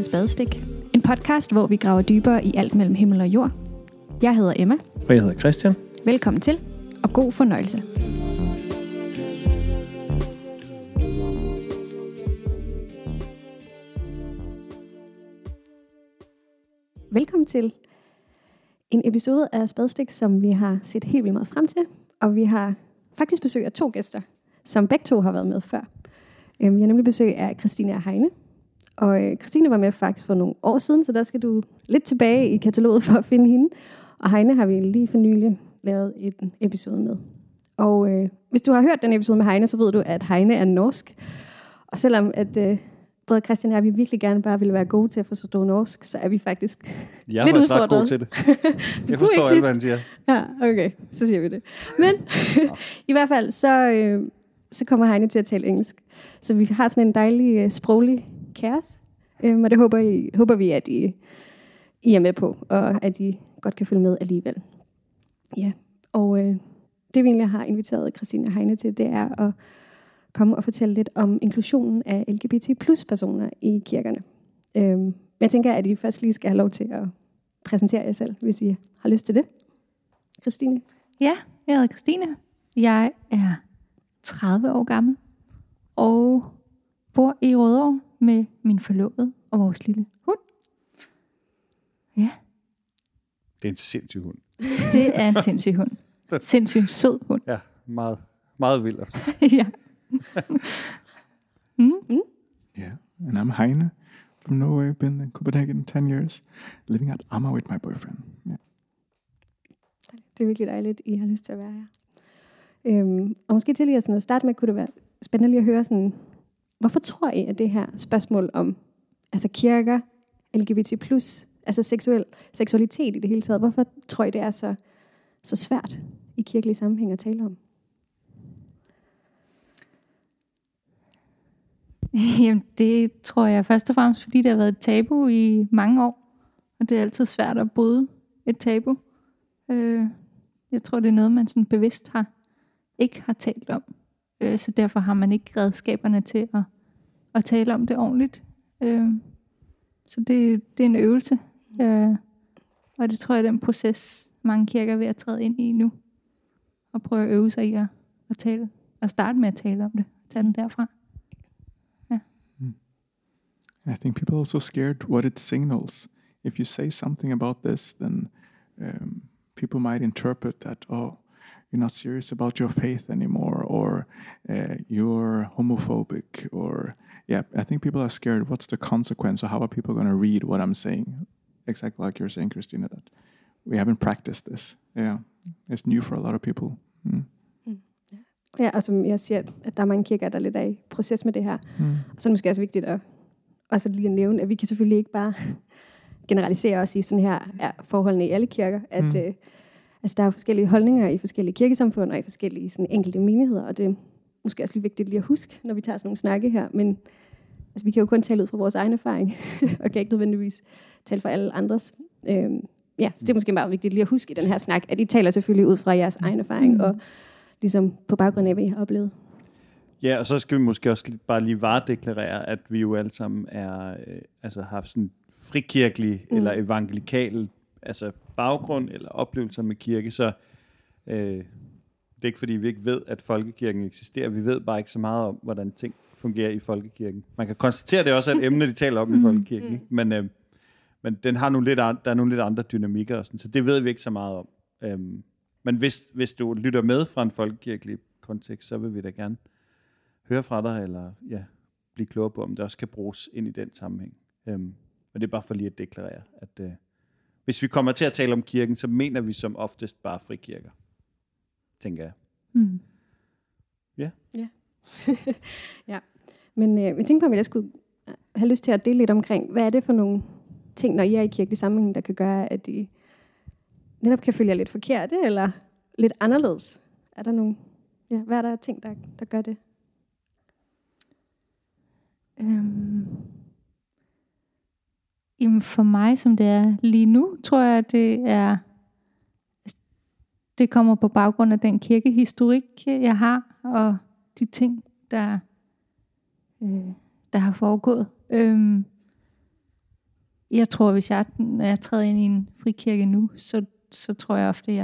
til Spadestik. En podcast, hvor vi graver dybere i alt mellem himmel og jord. Jeg hedder Emma. Og jeg hedder Christian. Velkommen til, og god fornøjelse. Velkommen til en episode af Spadestik, som vi har set helt vildt meget frem til. Og vi har faktisk besøg af 2 gæster, som begge 2 har været med før. Vi har nemlig besøg af Christine og Heine. Og Christine var med faktisk for nogle år siden, så der skal du lidt tilbage i kataloget for at finde hende. Og Heine har vi lige for nylig lavet en episode med. Og hvis du har hørt den episode med Heine, så ved du, at Heine er norsk. Og selvom at både Christian og jeg, vi virkelig gerne bare ville være gode til at forstå norsk, så er vi faktisk jeg lidt udfordret. Jeg er ret god til det. Jeg forstår alt, hvad han siger. Ja, okay, så siger vi det. Men i hvert fald, så kommer Heine til at tale engelsk. Så vi har sådan en dejlig sproglig kaos. Og det håber vi, at I er med på, og at I godt kan følge med alligevel. Ja, og det vi egentlig har inviteret Christine og Heine til, det er at komme og fortælle lidt om inklusionen af LGBT plus personer i kirkerne. Men jeg tænker, at I først lige skal have lov til at præsentere jer selv, hvis I har lyst til det. Christine? Ja, jeg hedder Christine. Jeg er 30 år gammel og bor i Rødovre med min forlovede og vores lille hund. Ja. Det er en sindssyg hund. Det er en sindssyg hund. Sindssyg sød hund. Ja, meget, meget vild også. Ja. Yeah, and I'm Heine from Norway. Been in Copenhagen 10 years, living at Amager with my boyfriend. Yeah. Det er virkelig dejligt, I har lyst til at være her. Og måske til lige at starte med, kunne det være spændende lige at høre sådan, hvorfor tror I, at det her spørgsmål om altså kirker, LGBT+, altså seksualitet i det hele taget, hvorfor tror I, det er så svært i kirkelige sammenhæng at tale om? Jamen, det tror jeg først og fremmest, fordi det har været et tabu i mange år. Og det er altid svært at bryde et tabu. Jeg tror, det er noget, man sådan bevidst ikke har talt om. Så derfor har man ikke redskaberne til at tale om det ordentligt. Så det er en øvelse. Og det tror jeg er den proces, mange kirker er ved at træde ind i nu. Og prøve at øve sig i at tale. Og starte med at tale om det. Tage den derfra. I think people are also scared what it signals. If you say something about this, then people might interpret that, oh, you're not serious about your faith anymore, or you're homophobic, or yeah, I think people are scared. What's the consequence, or how are people going to read what I'm saying? Exactly like you're saying, Christina, that we haven't practiced this. Yeah, it's new for a lot of people. Ja, og som jeg siger, at der er mange kirker, der er lidt af i proces med det her. Og så er det måske også vigtigt at også lige at nævne, at vi kan selvfølgelig ikke bare generalisere os i sådan her er forholdene i alle kirker. At altså, der er forskellige holdninger i forskellige kirkesamfund og i forskellige sådan, enkelte menigheder, og det er måske også lige vigtigt lige at huske, når vi tager sådan nogle snakke her. Men altså, vi kan jo kun tale ud fra vores egen erfaring, og kan ikke nødvendigvis tale for alle andres. Ja, så det er måske meget vigtigt lige at huske i den her snak, at I taler selvfølgelig ud fra jeres egen erfaring, og ligesom på baggrund af, hvad I har oplevet. Ja, og så skal vi måske også bare lige varedeklarere, at vi jo alle sammen er, altså har sådan frikirkelig eller evangelikal altså baggrund eller oplevelser med kirke, så det er ikke fordi vi ikke ved, at folkekirken eksisterer. Vi ved bare ikke så meget om, hvordan ting fungerer i folkekirken. Man kan konstatere, at det også er et emne, de taler om i folkekirken, men den har der er nogle lidt andre dynamikker og sådan, så det ved vi ikke så meget om. Men hvis du lytter med fra en folkekirkelig kontekst, så vil vi da gerne høre fra dig, eller blive klogere på, om det også kan bruges ind i den sammenhæng. Men det er bare for lige at deklarere, at hvis vi kommer til at tale om kirken, så mener vi som oftest bare frikirker, tænker jeg. Ja. Ja. Ja. Men jeg tænkte på, om jeg skulle have lyst til at dele lidt omkring, hvad er det for nogle ting, når I er i kirkelig sammenhæng, der kan gøre, at I netop kan følge jer lidt forkerte, eller lidt anderledes? Er der nogle, hvad er der ting, der gør det? Jamen for mig, som det er lige nu, tror jeg, det kommer på baggrund af den kirkehistorik, jeg har, og de ting, der har foregået. Jeg tror, når jeg træder ind i en frikirke nu, så tror jeg ofte,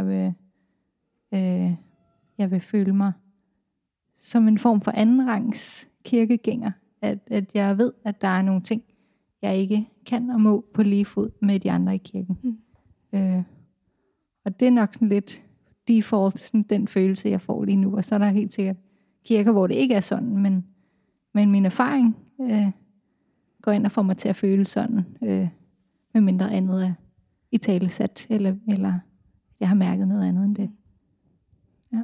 jeg vil føle mig som en form for andenrangs kirkegænger. At jeg ved, at der er nogle ting, jeg ikke kan og må på lige fod med de andre i kirken. Og det er nok sådan lidt default, sådan den følelse, jeg får lige nu. Og så er der helt sikkert kirker, hvor det ikke er sådan, men min erfaring går ind og får mig til at føle sådan, med mindre andet er i talesat, eller jeg har mærket noget andet end det. Ja.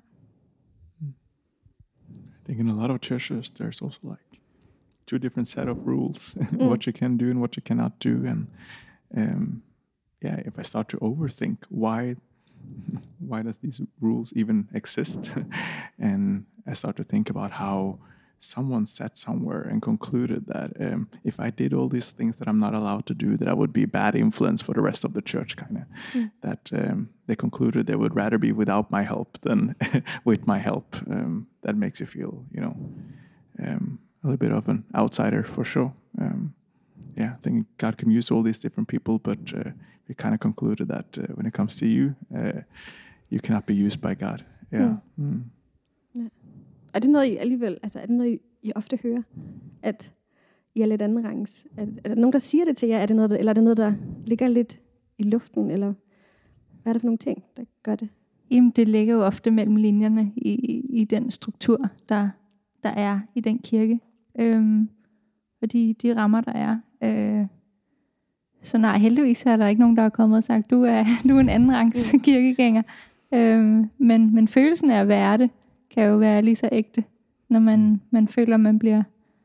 I think in a lot of churches, there's also like 2 different set of rules, what you can do and what you cannot do. And if I start to overthink why does these rules even exist, and I start to think about how someone sat somewhere and concluded that if I did all these things that I'm not allowed to do, that I would be a bad influence for the rest of the church, kind of. That they concluded they would rather be without my help than with my help. That makes you feel, a little bit of an outsider for sure. I think God can use all these different people, but we kind of concluded that when it comes to you, you cannot be used by God. Yeah. Ja. Er det noget, I alligevel, altså er det noget, I ofte hører, at I er lidt andenrangs? Er der nogen, der siger det til jer? Er det noget, eller er det noget, der ligger lidt i luften? Eller hvad er det for nogle ting, der gør det? Jamen, det ligger jo ofte mellem linjerne i den struktur, der er i den kirke. Og de rammer, der er. Så nej, heldigvis er der ikke nogen, der er kommet og sagt, du er en andenrangs kirkegænger. Men følelsen af at være det, kan jo være lige så ægte, når man føler, man bliver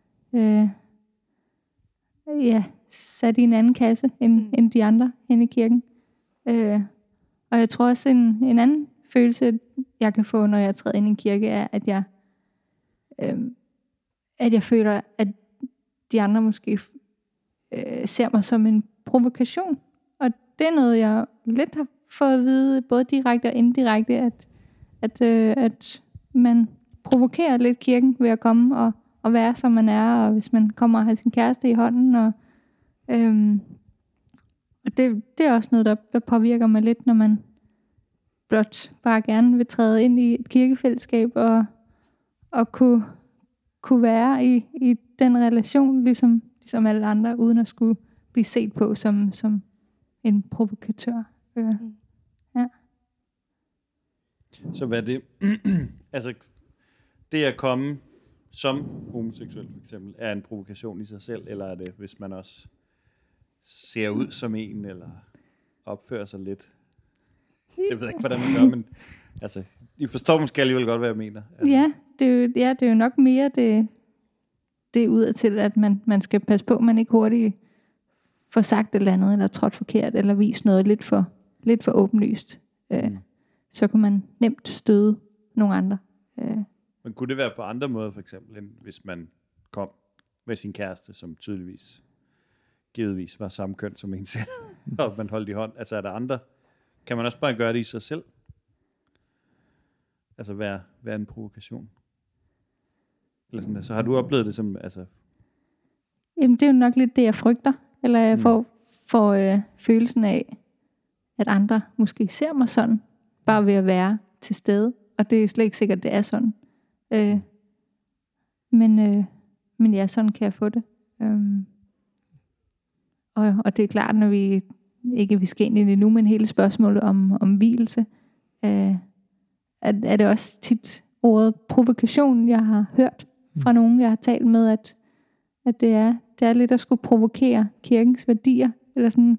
sat i en anden kasse end de andre hen i kirken. Og jeg tror også, en anden følelse, jeg kan få, når jeg træder ind i en kirke, er, at jeg føler, at de andre måske ser mig som en provokation. Og det er noget, jeg lidt har fået at vide, både direkte og indirekte, at man provokerer lidt kirken ved at komme og være, som man er, og hvis man kommer og har sin kæreste i hånden. Og det er også noget, der påvirker mig lidt, når man blot bare gerne vil træde ind i et kirkefællesskab og kunne være i den relation, ligesom alle andre, uden at skulle blive set på som en provokatør. Ja. Så hvad er det? Altså, det at komme som homoseksuel for eksempel, er en provokation i sig selv, eller er det, hvis man også ser ud som en, eller opfører sig lidt? Det ved jeg ikke, hvordan man gør, men altså, I forstår måske alligevel godt, hvad jeg mener. Altså. Ja, det er jo nok mere det udadtil, at man skal passe på, at man ikke hurtigt får sagt et eller andet, eller trådt forkert, eller vist noget lidt for åbenlyst. Så kan man nemt støde nogle andre. Men kunne det være på andre måder, for eksempel, end hvis man kom med sin kæreste, som givetvis var samme køn som en selv, og man holdt i hånd? Altså er der andre? Kan man også bare gøre det i sig selv? Altså være en provokation? Eller sådan der. Så har du oplevet det som... Altså... Jamen det er jo nok lidt det, jeg frygter. Eller jeg får følelsen af, at andre måske ser mig sådan, bare ved at være til stede. Og det er slet ikke sikkert, det er sådan. Men ja, sådan kan jeg få det. Og det er klart, når vi skal ind i det nu, men hele spørgsmålet om hvilelse, er det også tit ordet provokation, jeg har hørt fra nogen, jeg har talt med, at det er lidt at skulle provokere kirkens værdier, eller sådan,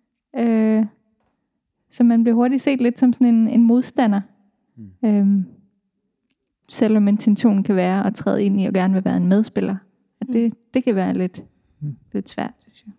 så man bliver hurtigt set lidt som sådan en modstander. Selvom intentionen kan være at træde ind i og gerne vil være en medspiller. At det kan være lidt svært, synes jeg.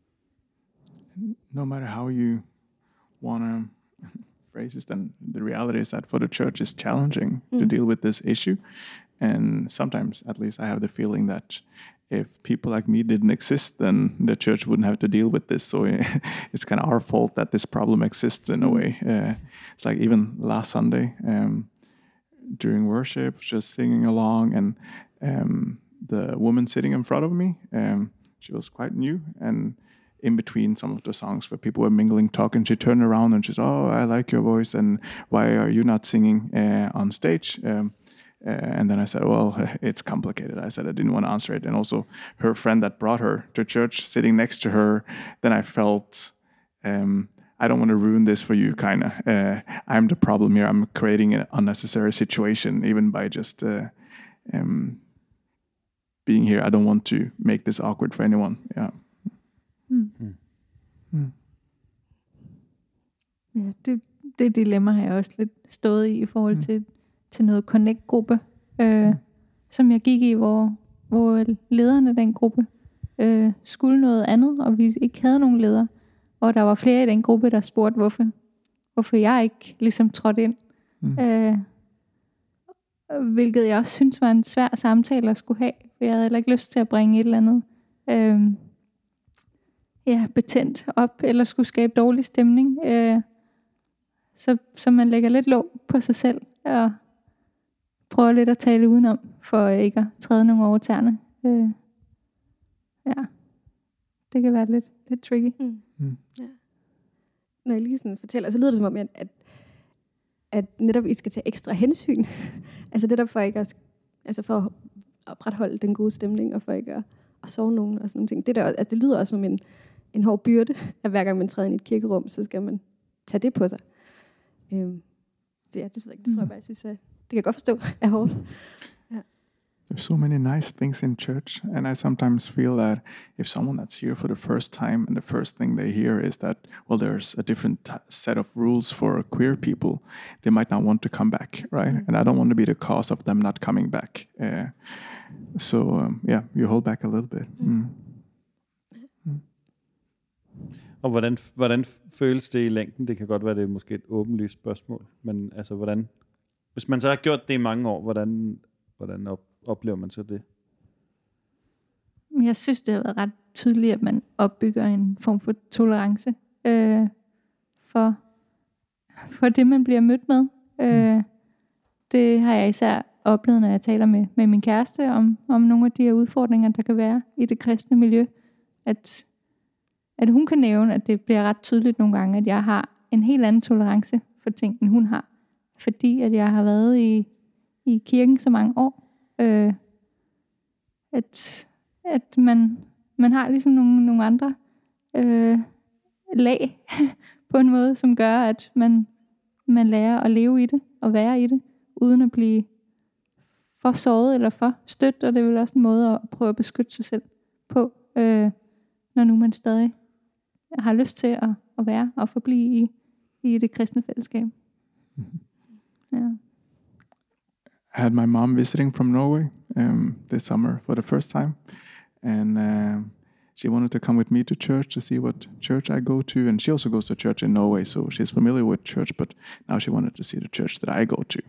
No matter how you want to phrase it, then the reality is that for the church it's challenging to deal with this issue. And sometimes, at least I have the feeling that if people like me didn't exist, then the church wouldn't have to deal with this. So it's kind of our fault that this problem exists in a way. It's like even last Sunday, during worship, just singing along, and the woman sitting in front of me, she was quite new, and in between some of the songs where people were mingling, talking, she turned around and she said, "Oh, I like your voice, and why are you not singing on stage?" And then I said, "Well, it's complicated." I said I didn't want to answer it. And also her friend that brought her to church sitting next to her, then I felt, I don't want to ruin this for you, kind of. I'm the problem here. I'm creating an unnecessary situation, even by just being here. I don't want to make this awkward for anyone. Yeah. Ja, det dilemma har jeg også lidt stået i forhold til noget connect-gruppe, som jeg gik i, hvor lederne af den gruppe skulle noget andet, og vi ikke havde nogen leder. Og der var flere i den gruppe, der spurgte, hvorfor jeg ikke ligesom trådte ind. Hvilket jeg også synes var en svær samtale at skulle have. For jeg havde heller ikke lyst til at bringe et eller andet betændt op, eller skulle skabe dårlig stemning. Så man lægger lidt låg på sig selv, og prøver lidt at tale udenom, for ikke at træde nogen over tæerne. Det kan være lidt tricky. Ja. Når jeg lige sådan fortæller, så lyder det som om, at netop I skal tage ekstra hensyn. Altså netop for ikke at, for at opretholde den gode stemning, og for ikke at sove nogen og sådan nogle ting. Det lyder også som en hård byrde, at hver gang man træder ind i et kirkerum, så skal man tage det på sig. Det tror jeg bare, jeg synes, at det kan jeg godt forstå er hårdt. There's so many nice things in church, and I sometimes feel that if someone that's here for the first time and the first thing they hear is that, well, there's a different set of rules for queer people, they might not want to come back, right? And I don't want to be the cause of them not coming back. You hold back a little bit. Og hvordan føles det i længden? Det kan godt være, det er måske et åbenlyst spørgsmål, men altså hvordan, hvis man så har gjort det i mange år, hvordan oplever man så det? Jeg synes, det har været ret tydeligt, at man opbygger en form for tolerance for det, man bliver mødt med. Det har jeg især oplevet, når jeg taler med min kæreste om nogle af de her udfordringer, der kan være i det kristne miljø. At hun kan nævne, at det bliver ret tydeligt nogle gange, at jeg har en helt anden tolerance for ting, end hun har. Fordi at jeg har været i kirken så mange år. At man har ligesom nogle andre lag på en måde, som gør, at man lærer at leve i det og være i det, uden at blive for såret eller for stødt, og det er vel også en måde at prøve at beskytte sig selv på, når nu man stadig har lyst til at være og forblive i det kristne fællesskab. Ja. I had my mom visiting from Norway this summer for the first time, and she wanted to come with me to church to see what church I go to, and she also goes to church in Norway, so she's familiar with church, but now she wanted to see the church that I go to.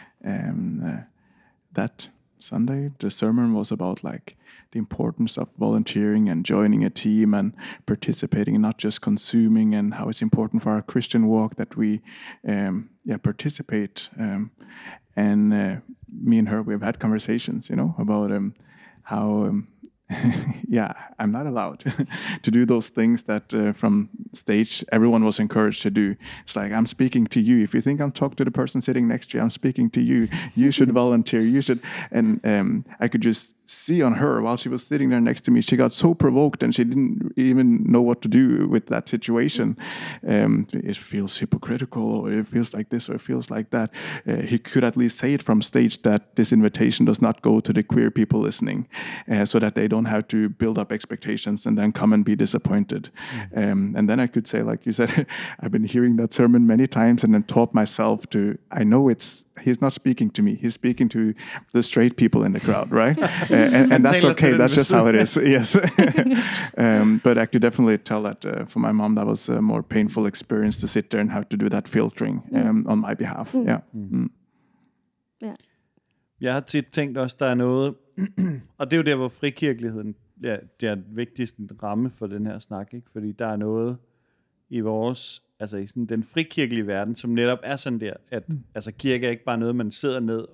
That Sunday, the sermon was about like the importance of volunteering and joining a team and participating, not just consuming, and how it's important for our Christian walk that we participate. And me and her, we've had conversations, about how I'm not allowed to do those things that from stage everyone was encouraged to do. It's like, I'm speaking to you. If you think I'm talking to the person sitting next to you, I'm speaking to you. You should volunteer. You should. And I could just see on her while she was sitting there next to me, she got so provoked and she didn't even know what to do with that situation. It feels hypocritical, or it feels like this, or it feels like that. He could at least say it from stage that this invitation does not go to the queer people listening, so that they don't have to build up expectations and then come and be disappointed. And then I could say, like you said, I've been hearing that sermon many times and then taught myself I know he's not speaking to me. He's speaking to the straight people in the crowd, right? And that's okay. That's just how it is. Yes. But I could definitely tell that for my mom, that was a more painful experience to sit there and have to do that filtering on my behalf. Yeah. Ja. Jeg har tit tænkt også, der er noget, og det er jo der, hvor frikirkeligheden det er den vigtigste ramme for den her snak, ikke? Fordi der er noget i vores, altså i sådan den frikirkelige verden, som netop er sådan der, at altså kirke er ikke bare noget, man sidder ned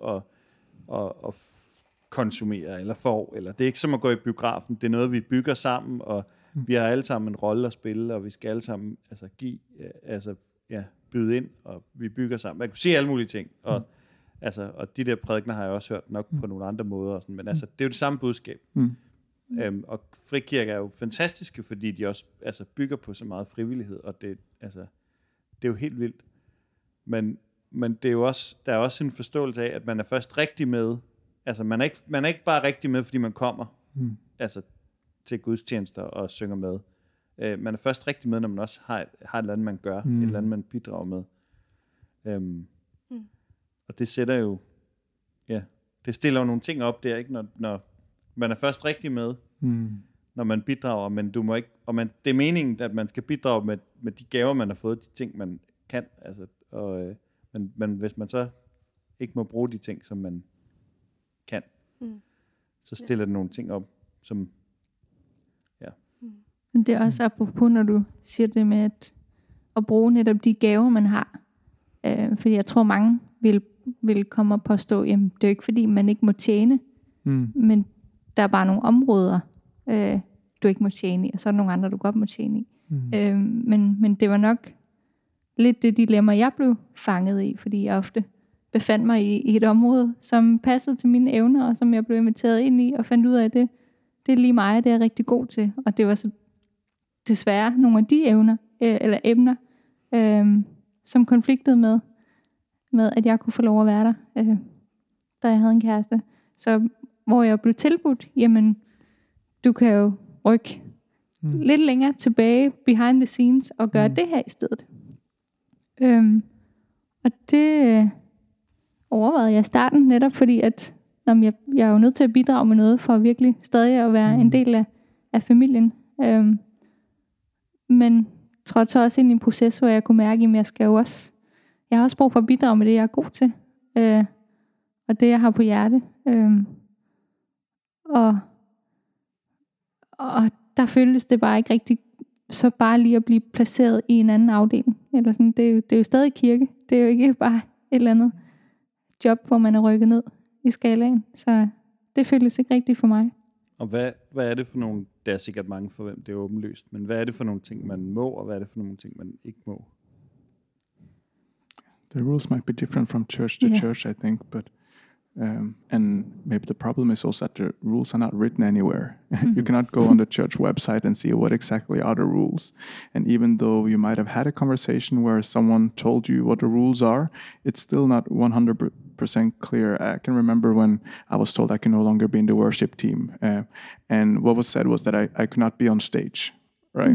og konsumerer eller får, eller det er ikke som at gå i biografen, det er noget, vi bygger sammen, og vi har alle sammen en rolle at spille, og vi skal alle sammen byde ind, og vi bygger sammen. Man kan sige alle mulige ting, og de der prædikener har jeg også hørt nok på nogle andre måder, og sådan, men det er jo det samme budskab. Og frikirker er jo fantastiske, fordi de også bygger på så meget frivillighed, og det er jo helt vildt. Men det er jo også, der er også en forståelse af, at man er først rigtig med. Altså man er ikke bare rigtig med, fordi man kommer til gudstjenester og synger med. Man er først rigtig med, når man også har et eller andet, man gør, et eller andet, man bidrager med. Og det sætter jo, det stiller jo nogle ting op der, ikke? Når man er først rigtig med, når man bidrager, men du må ikke, det er meningen, at man skal bidrage med de gaver, man har fået, de ting, man kan, men hvis man så ikke må bruge de ting, som man kan, så stiller det nogle ting op, som, Men det er også apropos, når du siger det med at bruge netop de gaver, man har. Fordi jeg tror, mange vil komme og påstå, jamen det er jo ikke fordi, man ikke må tjene, men der er bare nogle områder, du ikke må tjene i, og så er der nogle andre, du godt må tjene i. Men det var nok lidt det dilemma, jeg blev fanget i, fordi jeg ofte befandt mig i et område, som passede til mine evner, og som jeg blev inviteret ind i, og fandt ud af, at det er lige mig, det er jeg rigtig god til. Og det var så desværre nogle af de emner, som konfliktede med, at jeg kunne få lov at være der, da jeg havde en kæreste. Så hvor jeg blev tilbudt, jamen, du kan jo rykke lidt længere tilbage behind the scenes og gøre det her i stedet. Og det overvejede jeg i starten netop fordi, at jeg er jo nødt til at bidrage med noget for virkelig stadig at være en del af familien. Men trådte så også ind i en proces, hvor jeg kunne mærke, at jeg har også brug for at bidrage med det, jeg er god til. Og det, jeg har på hjerte. Og der føltes det bare ikke rigtig, så bare lige at blive placeret i en anden afdeling. Eller sådan, det er jo stadig kirke. Det er jo ikke bare et eller andet job, hvor man er rykket ned i skalaen. Så det føltes ikke rigtigt for mig. Og hvad er det for nogle, der er sikkert mange for hvem det er åbenlyst, men hvad er det for nogle ting, man må, og hvad er det for nogle ting, man ikke må? The rules might be different from church to church, I think, but and maybe the problem is also that the rules are not written anywhere. You cannot go on the church website and see what exactly are the rules. And even though you might have had a conversation where someone told you what the rules are, it's still not 100% clear. I can remember when I was told I can no longer be in the worship team. And what was said was that I could not be on stage, right?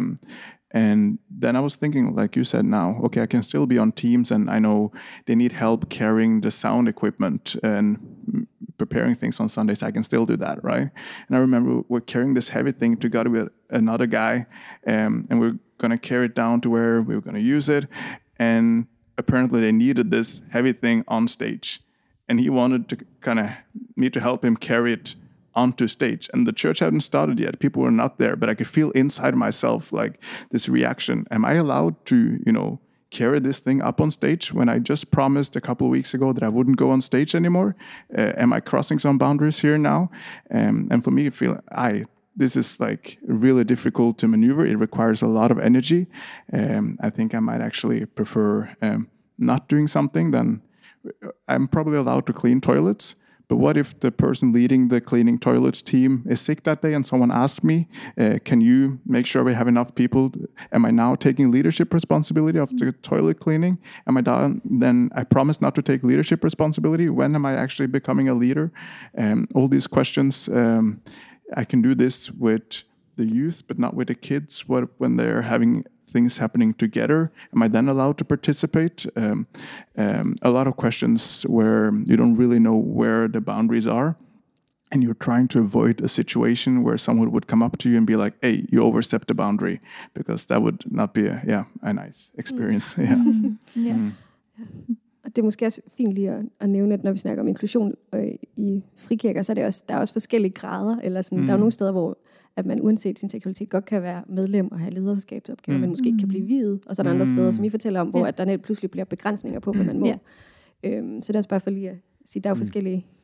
And then I was thinking, like you said now, okay, I can still be on teams, and I know they need help carrying the sound equipment and preparing things on Sundays. I can still do that, right? And I remember we're carrying this heavy thing together with another guy, and we're going to carry it down to where we were going to use it. And apparently they needed this heavy thing on stage. And he wanted to me to help him carry it onto stage, and the church hadn't started yet. People were not there, but I could feel inside myself like this reaction. Am I allowed to, carry this thing up on stage when I just promised a couple of weeks ago that I wouldn't go on stage anymore? Am I crossing some boundaries here now? And for me, this is like really difficult to maneuver. It requires a lot of energy. I think I might actually prefer not doing something than I'm probably allowed to clean toilets. But what if the person leading the cleaning toilets team is sick that day and someone asks me, can you make sure we have enough people? Am I now taking leadership responsibility of the toilet cleaning? Am I done? Then I promise not to take leadership responsibility. When am I actually becoming a leader? All these questions, I can do this with the youth, but not with the kids. What when they're having things happening together? Am I then allowed to participate? A lot of questions where you don't really know where the boundaries are, and you're trying to avoid a situation where someone would come up to you and be like, hey, you overstepped the boundary, because that would not be a nice experience. Og det er måske også fint lige at nævne, at når vi snakker om inklusion i frikirker, så er der er også forskellige grader, eller sådan, der er jo nogle steder, hvor at man uanset sin seksualitet godt kan være medlem og have lederskabsopgaver, men måske ikke kan blive viet. Og så er der andre steder, som I fortæller om, hvor at der net pludselig bliver begrænsninger på, hvad man må. Så det er også bare for lige at sige, der er jo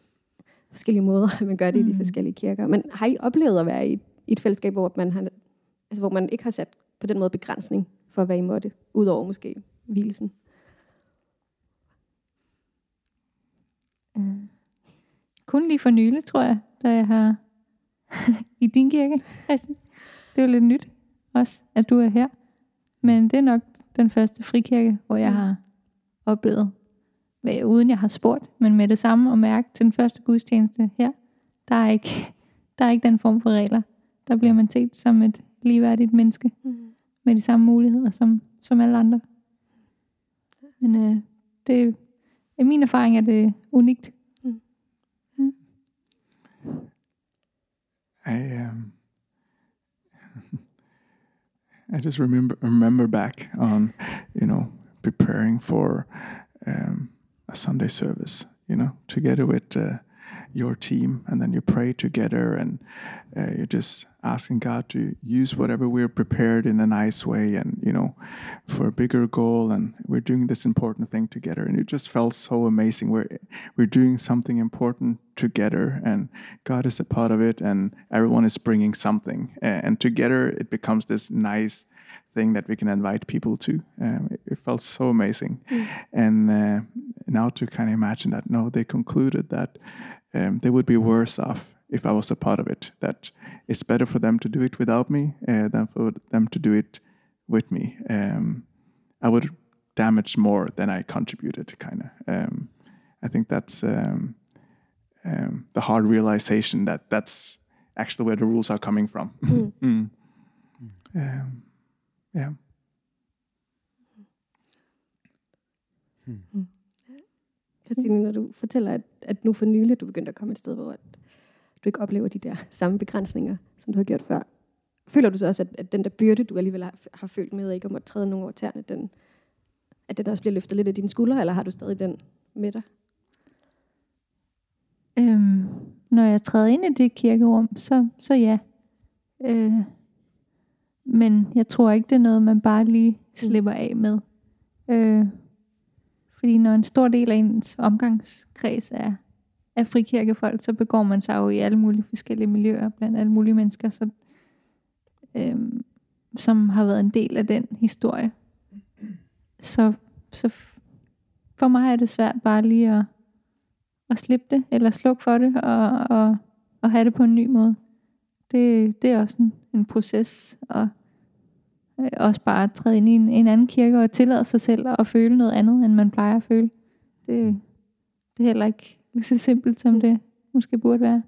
forskellige måder, man gør det i de forskellige kirker. Men har I oplevet at være i et fællesskab, hvor man har Altså hvor man ikke har sat på den måde begrænsning for, hvad I måtte, udover måske hvilelsen. Kun lige for nylig, tror jeg, da jeg har i din kirke. Altså, det er jo lidt nyt også, at du er her. Men det er nok den første frikirke, hvor jeg har oplevet, uden jeg har spurgt, men med det samme og mærke til den første gudstjeneste her, der er ikke den form for regler. Der bliver man set som et ligeværdigt menneske, med de samme muligheder som alle andre. Men det i min erfaring er det unikt. I just remember back on, preparing for a Sunday service, together with your team, and then you pray together, and you're just asking God to use whatever we're prepared in a nice way, and for a bigger goal, and we're doing this important thing together, and it just felt so amazing. We're doing something important together, and God is a part of it, and everyone is bringing something, and together it becomes this nice thing that we can invite people to. It felt so amazing. And now to kind of imagine that, no, they concluded that they would be worse off if I was a part of it, that it's better for them to do it without me than for them to do it with me. I would damage more than I contributed, kind of. I think that's the hard realization that that's actually where the rules are coming from. Yeah. Christine, når du fortæller, at nu for nylig du begyndte at komme et sted, hvor du ikke oplever de der samme begrænsninger, som du har gjort før. Føler du så også, at den der byrde, du alligevel har følt med, ikke om at træde nogen over tæerne, at den også bliver løftet lidt af dine skuldre, eller har du stadig den med dig? Når jeg træder ind i det kirkerum, så ja. Men jeg tror ikke, det er noget, man bare lige slipper af med. Fordi når en stor del af ens omgangskreds er frikirkefolk, så begår man sig jo i alle mulige forskellige miljøer, blandt alle mulige mennesker, som har været en del af den historie. Så for mig er det svært bare lige at slippe det, eller slukke for det, og have det på en ny måde. Det er også en proces, og også bare at træde ind i en anden kirke og tillade sig selv at føle noget andet, end man plejer at føle. Det er heller ikke så simpelt, som det måske burde være.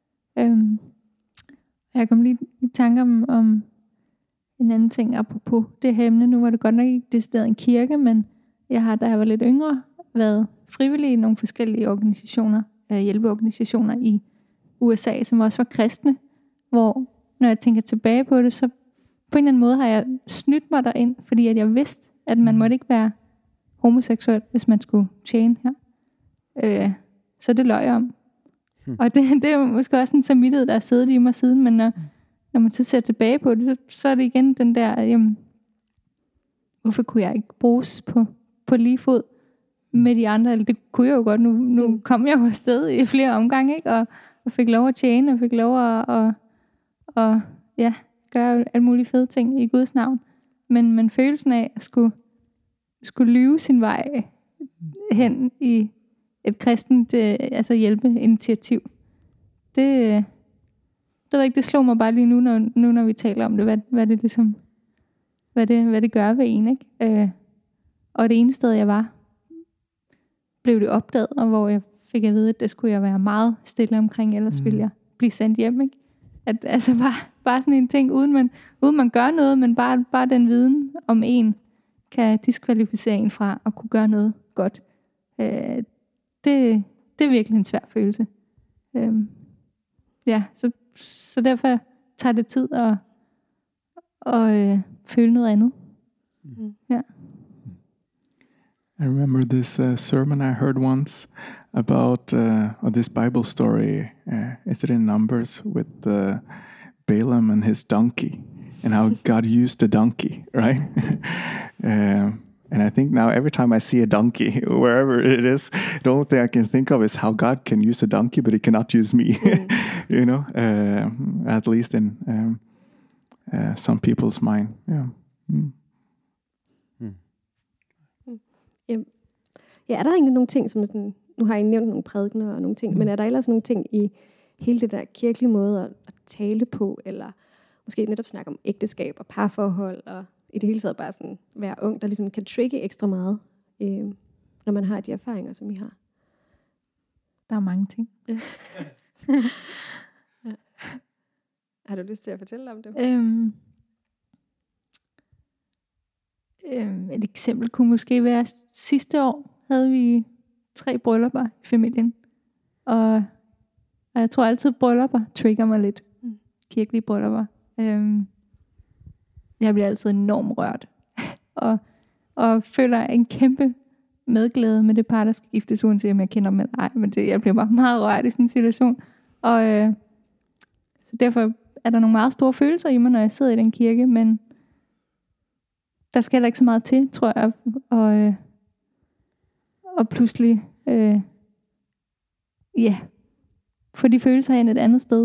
Jeg kom lige i tanke om en anden ting apropos det her emne. Nu var det godt nok ikke decideret en kirke, men jeg har, da jeg var lidt yngre, været frivillig i nogle forskellige organisationer, hjælpeorganisationer i USA, som også var kristne, hvor når jeg tænker tilbage på det, så på en eller anden måde har jeg snydt mig derind, fordi at jeg vidste, at man måtte ikke være homoseksuel, hvis man skulle tjene her. Så det løg jeg om. Og det er jo måske også en samvittighed, der er siddet i mig siden, men når man så ser tilbage på det, så er det igen den der, jamen, hvorfor kunne jeg ikke bruges på lige fod med de andre? Eller det kunne jeg jo godt, nu kom jeg jo afsted i flere omgange, ikke? Og fik lov at tjene, og fik lov at gøre alle mulige fede ting i Guds navn. Men følelsen af at skulle lyve sin vej hen i et kristent hjælpeinitiativ, det slog mig bare lige nu, når vi taler om det, hvad det ligesom, hvad det gør ved en, ikke? Og det ene sted jeg var, blev det opdaget, og hvor jeg fik at vide, at det skulle jeg være meget stille omkring, ellers ville jeg blive sendt hjem, ikke? At altså bare sådan en ting, uden man gør noget, men bare den viden om en, kan diskvalificere en fra at kunne gøre noget godt. Det er virkelig en svær følelse. Så derfor tager det tid at føle noget andet. Ja. I remember this sermon I heard once about this Bible story. Is it in Numbers with Balaam and his donkey, and how God used the donkey, right? And I think now every time I see a donkey, wherever it is, the only thing I can think of is how God can use a donkey, but He cannot use me. At least in some people's mind. Yeah. Ja, er der egentlig nogle ting, som sådan, nu har I nævnt nogle prædikener og nogle ting, men er der ellers nogle ting i hele det der kirkelige måde at tale på, eller måske netop snakke om ægteskab og parforhold, og i det hele taget bare sådan være ung, der ligesom kan trigge ekstra meget, når man har de erfaringer, som I har? Der er mange ting. Ja. Ja. Har du lyst til at fortælle om det? Et eksempel kunne måske være, sidste år havde vi 3 bryllupper i familien. Og jeg tror altid, bryllupper trigger mig lidt. Kirkelige bryllupper. Jeg bliver altid enormt rørt. og føler en kæmpe medglæde med det par, der skal giftes, uanset om jeg kender dem eller ej. Men jeg bliver bare meget rørt i sådan en situation. Og så derfor er der nogle meget store følelser i mig, når jeg sidder i den kirke, men der skal heller ikke så meget til, tror jeg, og pludselig få de følelser hen et andet sted.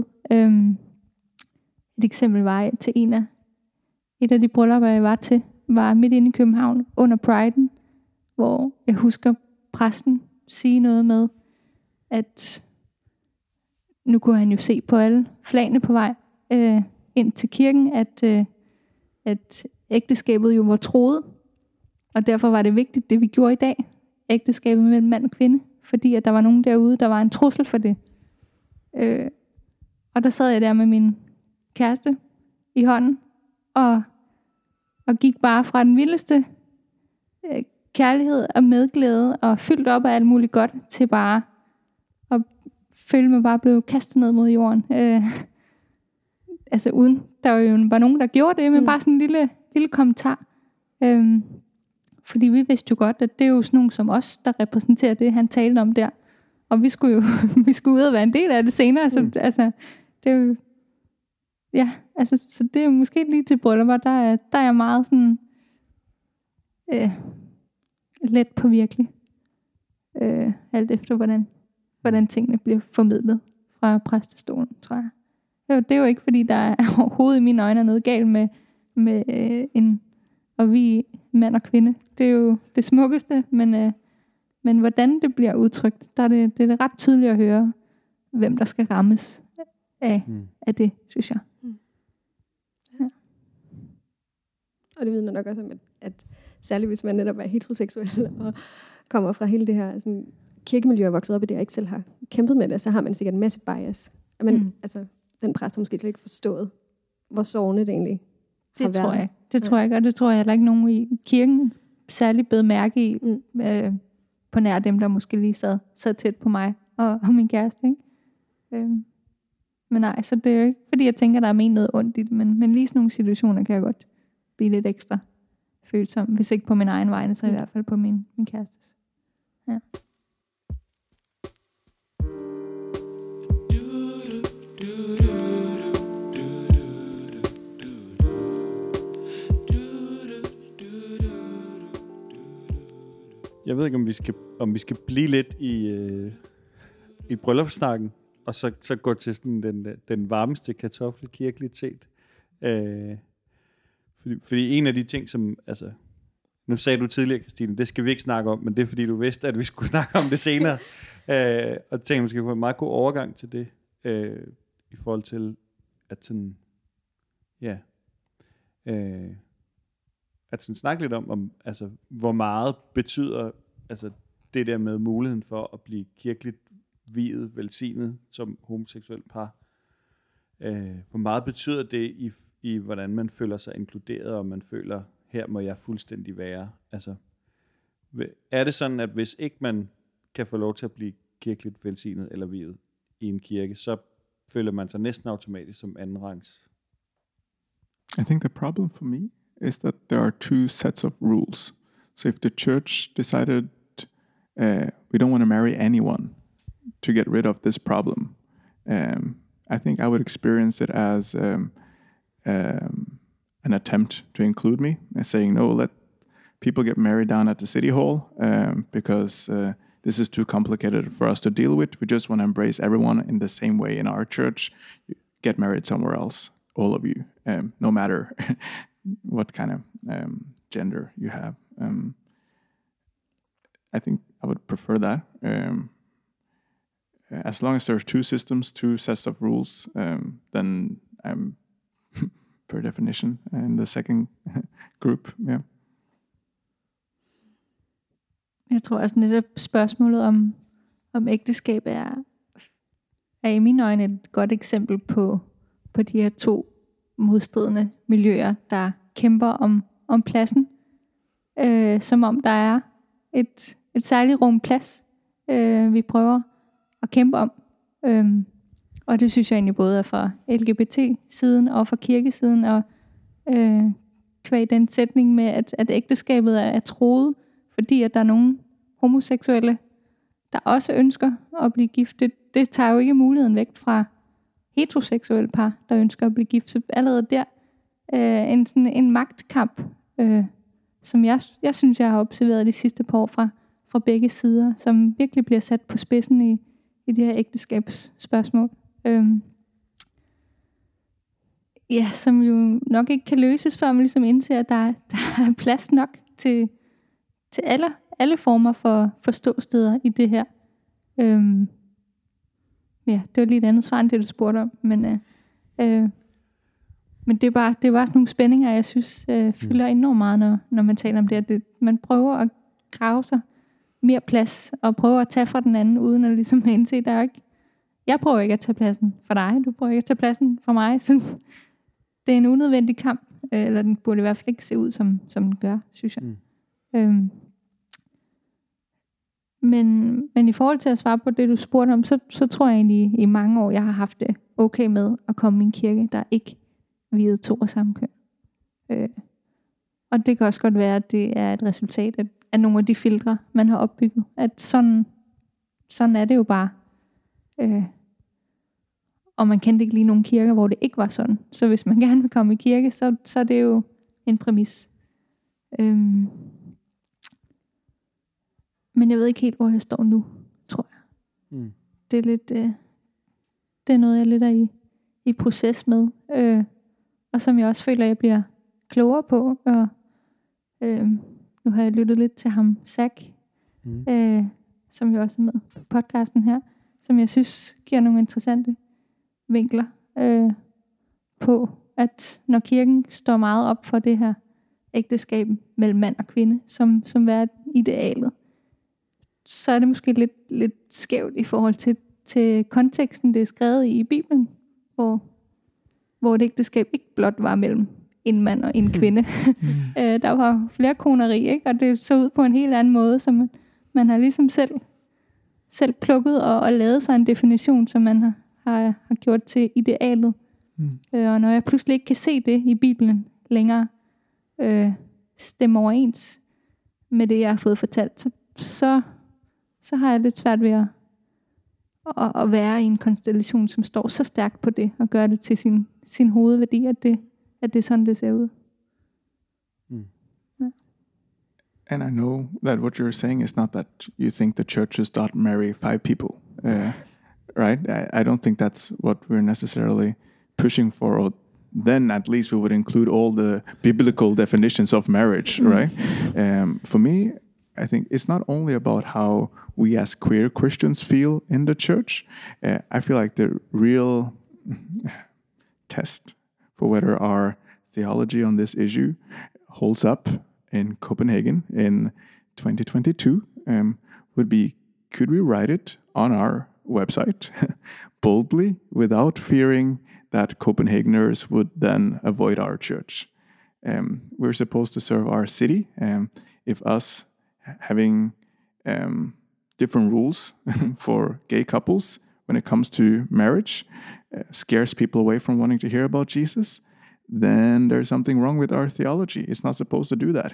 Et eksempel var til et af de bryllupper, jeg var til, var midt inde i København under Pride'en, hvor jeg husker præsten sige noget med, at nu kunne han jo se på alle flagene på vej ind til kirken, at ægteskabet jo var troet, og derfor var det vigtigt, det vi gjorde i dag, ægteskabet mellem mand og kvinde, fordi at der var nogen derude, der var en trussel for det. Og der sad jeg der med min kæreste i hånden, og gik bare fra den vildeste kærlighed og medglæde, og fyldt op af alt muligt godt, til bare at føle mig bare blev kastet ned mod jorden. Altså uden, der var jo bare nogen, der gjorde det, men bare sådan en lille kommentar. Fordi vi vidste jo godt, at det er jo sådan nogen som os, der repræsenterer det, han talte om der. Og vi skulle jo ud og være en del af det senere. Så altså, det er jo, ja, altså, så det er måske lige til bryllupper, der er jeg meget sådan let på virkelig. Alt efter, hvordan tingene bliver formidlet fra præstestolen, tror jeg. Det er jo ikke, fordi der er overhovedet i mine øjne noget galt med og vi mand og kvinde. Det er jo det smukkeste, men hvordan det bliver udtrykt, det er ret tydeligt at høre, hvem der skal rammes af det, synes jeg. Ja. Og det vidner nok også om, at særligt hvis man netop er heteroseksuel og kommer fra hele det her sådan, kirkemiljø og vokset op i det, og ikke selv har kæmpet med det, så har man sikkert en masse bias. Men altså, den præst har måske slet ikke forstået, hvor sårende det egentlig har været. Tror jeg. Det tror jeg, og det tror jeg heller ikke nogen i kirken særlig bed mærke i, på nær dem, der måske lige sad tæt på mig og min kæreste. Ikke? Men nej, så det er jo ikke, fordi jeg tænker, der er ment noget ondt i det, men lige sådan nogle situationer kan jeg godt blive lidt ekstra følsom, hvis ikke på min egen vegne, så i hvert fald på min kærestes. Ja. Jeg ved ikke, om vi skal blive lidt i bryllupssnakken, og så gå til sådan den varmeste kartoffelkirkelitet. Fordi en af de ting, som, altså, nu sagde du tidligere, Christine, det skal vi ikke snakke om, men det er fordi, du vidste, at vi skulle snakke om det senere. Og tænkte, måske få en meget god overgang til det, i forhold til, at sådan, ja, at sådan snakke lidt om altså, hvor meget betyder altså, det der med muligheden for at blive kirkeligt viet, velsignet som homoseksuel par. Hvor meget betyder det i hvordan man føler sig inkluderet, og man føler, her må jeg fuldstændig være. Altså, er det sådan, at hvis ikke man kan få lov til at blive kirkeligt velsignet eller viet i en kirke, så føler man sig næsten automatisk som andenrangs? I think the problem for me is that there are two sets of rules. So if the church decided we don't want to marry anyone to get rid of this problem, I think I would experience it as an attempt to include me, saying, no, let people get married down at the city hall because this is too complicated for us to deal with. We just want to embrace everyone in the same way in our church. Get married somewhere else. all of you, no matter what kind of gender you have. I think I would prefer that. As long as there's two systems, two sets of rules, then I'm per definition in the second group. Yeah. Jeg tror også netop spørgsmålet om ægteskab er i mine øjne et godt eksempel på de her to modstridende miljøer, der kæmper om pladsen. Som om der er et særligt rum plads, vi prøver at kæmpe om. Og det synes jeg egentlig både er fra LGBT-siden og fra kirkesiden, og kvæg den sætning med, at ægteskabet er troet, fordi at der er nogle homoseksuelle, der også ønsker at blive gift. Det tager jo ikke muligheden væk fra heteroseksuelle par, der ønsker at blive gift. Så allerede der en magtkamp, som jeg synes, jeg har observeret de sidste par år fra begge sider, som virkelig bliver sat på spidsen i de her ægteskabsspørgsmål. Som jo nok ikke kan løses, før man ligesom indser, at der er plads nok til alle former for forståsteder i det her. Det var lige et andet svar end det, du spurgte om. Men det er bare sådan nogle spændinger, jeg synes fylder enormt meget, når man taler om det. Man prøver at grave sig mere plads, og prøver at tage fra den anden, uden at ligesom indse, der er ikke... Jeg prøver ikke at tage pladsen for dig, du prøver ikke at tage pladsen for mig. Så det er en unødvendig kamp, eller den burde i hvert fald ikke se ud, som den gør, synes jeg. Men i forhold til at svare på det, du spurgte om, så tror jeg egentlig i mange år, jeg har haft det okay med at komme i en kirke, der ikke viede to af samme køn. Og det kan også godt være, at det er et resultat af nogle af de filtre, man har opbygget. At sådan er det jo bare. Og man kendte ikke lige nogle kirker, hvor det ikke var sådan. Så hvis man gerne vil komme i kirke, så er det jo en præmis. Men jeg ved ikke helt, hvor jeg står nu, tror jeg. Det er lidt, det er noget, jeg lidt er i proces med. Og som jeg også føler, jeg bliver klogere på. Og nu har jeg lyttet lidt til ham, Zach, som jo også er med på podcasten her, som jeg synes giver nogle interessante vinkler på, at når kirken står meget op for det her ægteskab mellem mand og kvinde, som er idealet, så er det måske lidt skævt i forhold til konteksten, det er skrevet i Bibelen, hvor et ægteskab ikke blot var mellem en mand og en kvinde. Der var flere koneri, ikke? Og det så ud på en helt anden måde, så man har ligesom selv plukket og lavet sig en definition, som man har gjort til idealet. Og når jeg pludselig ikke kan se det i Bibelen længere, stemme overens med det, jeg har fået fortalt, så har jeg lidt svært ved at være i en konstellation, som står så stærkt på det, og gøre det til sin hovedværdi, at det er sådan, det ser ud. Ja. And I know that what you're saying is not that you think the church should start marry 5 people, right? I don't think that's what we're necessarily pushing for, or then at least we would include all the biblical definitions of marriage, right? For me, I think it's not only about how we as queer Christians feel in the church. I feel like the real test for whether our theology on this issue holds up in Copenhagen in 2022 would be, could we write it on our website boldly without fearing that Copenhageners would then avoid our church? We're supposed to serve our city. If us having different rules for gay couples when it comes to marriage scares people away from wanting to hear about Jesus, then there's something wrong with our theology. It's not supposed to do that.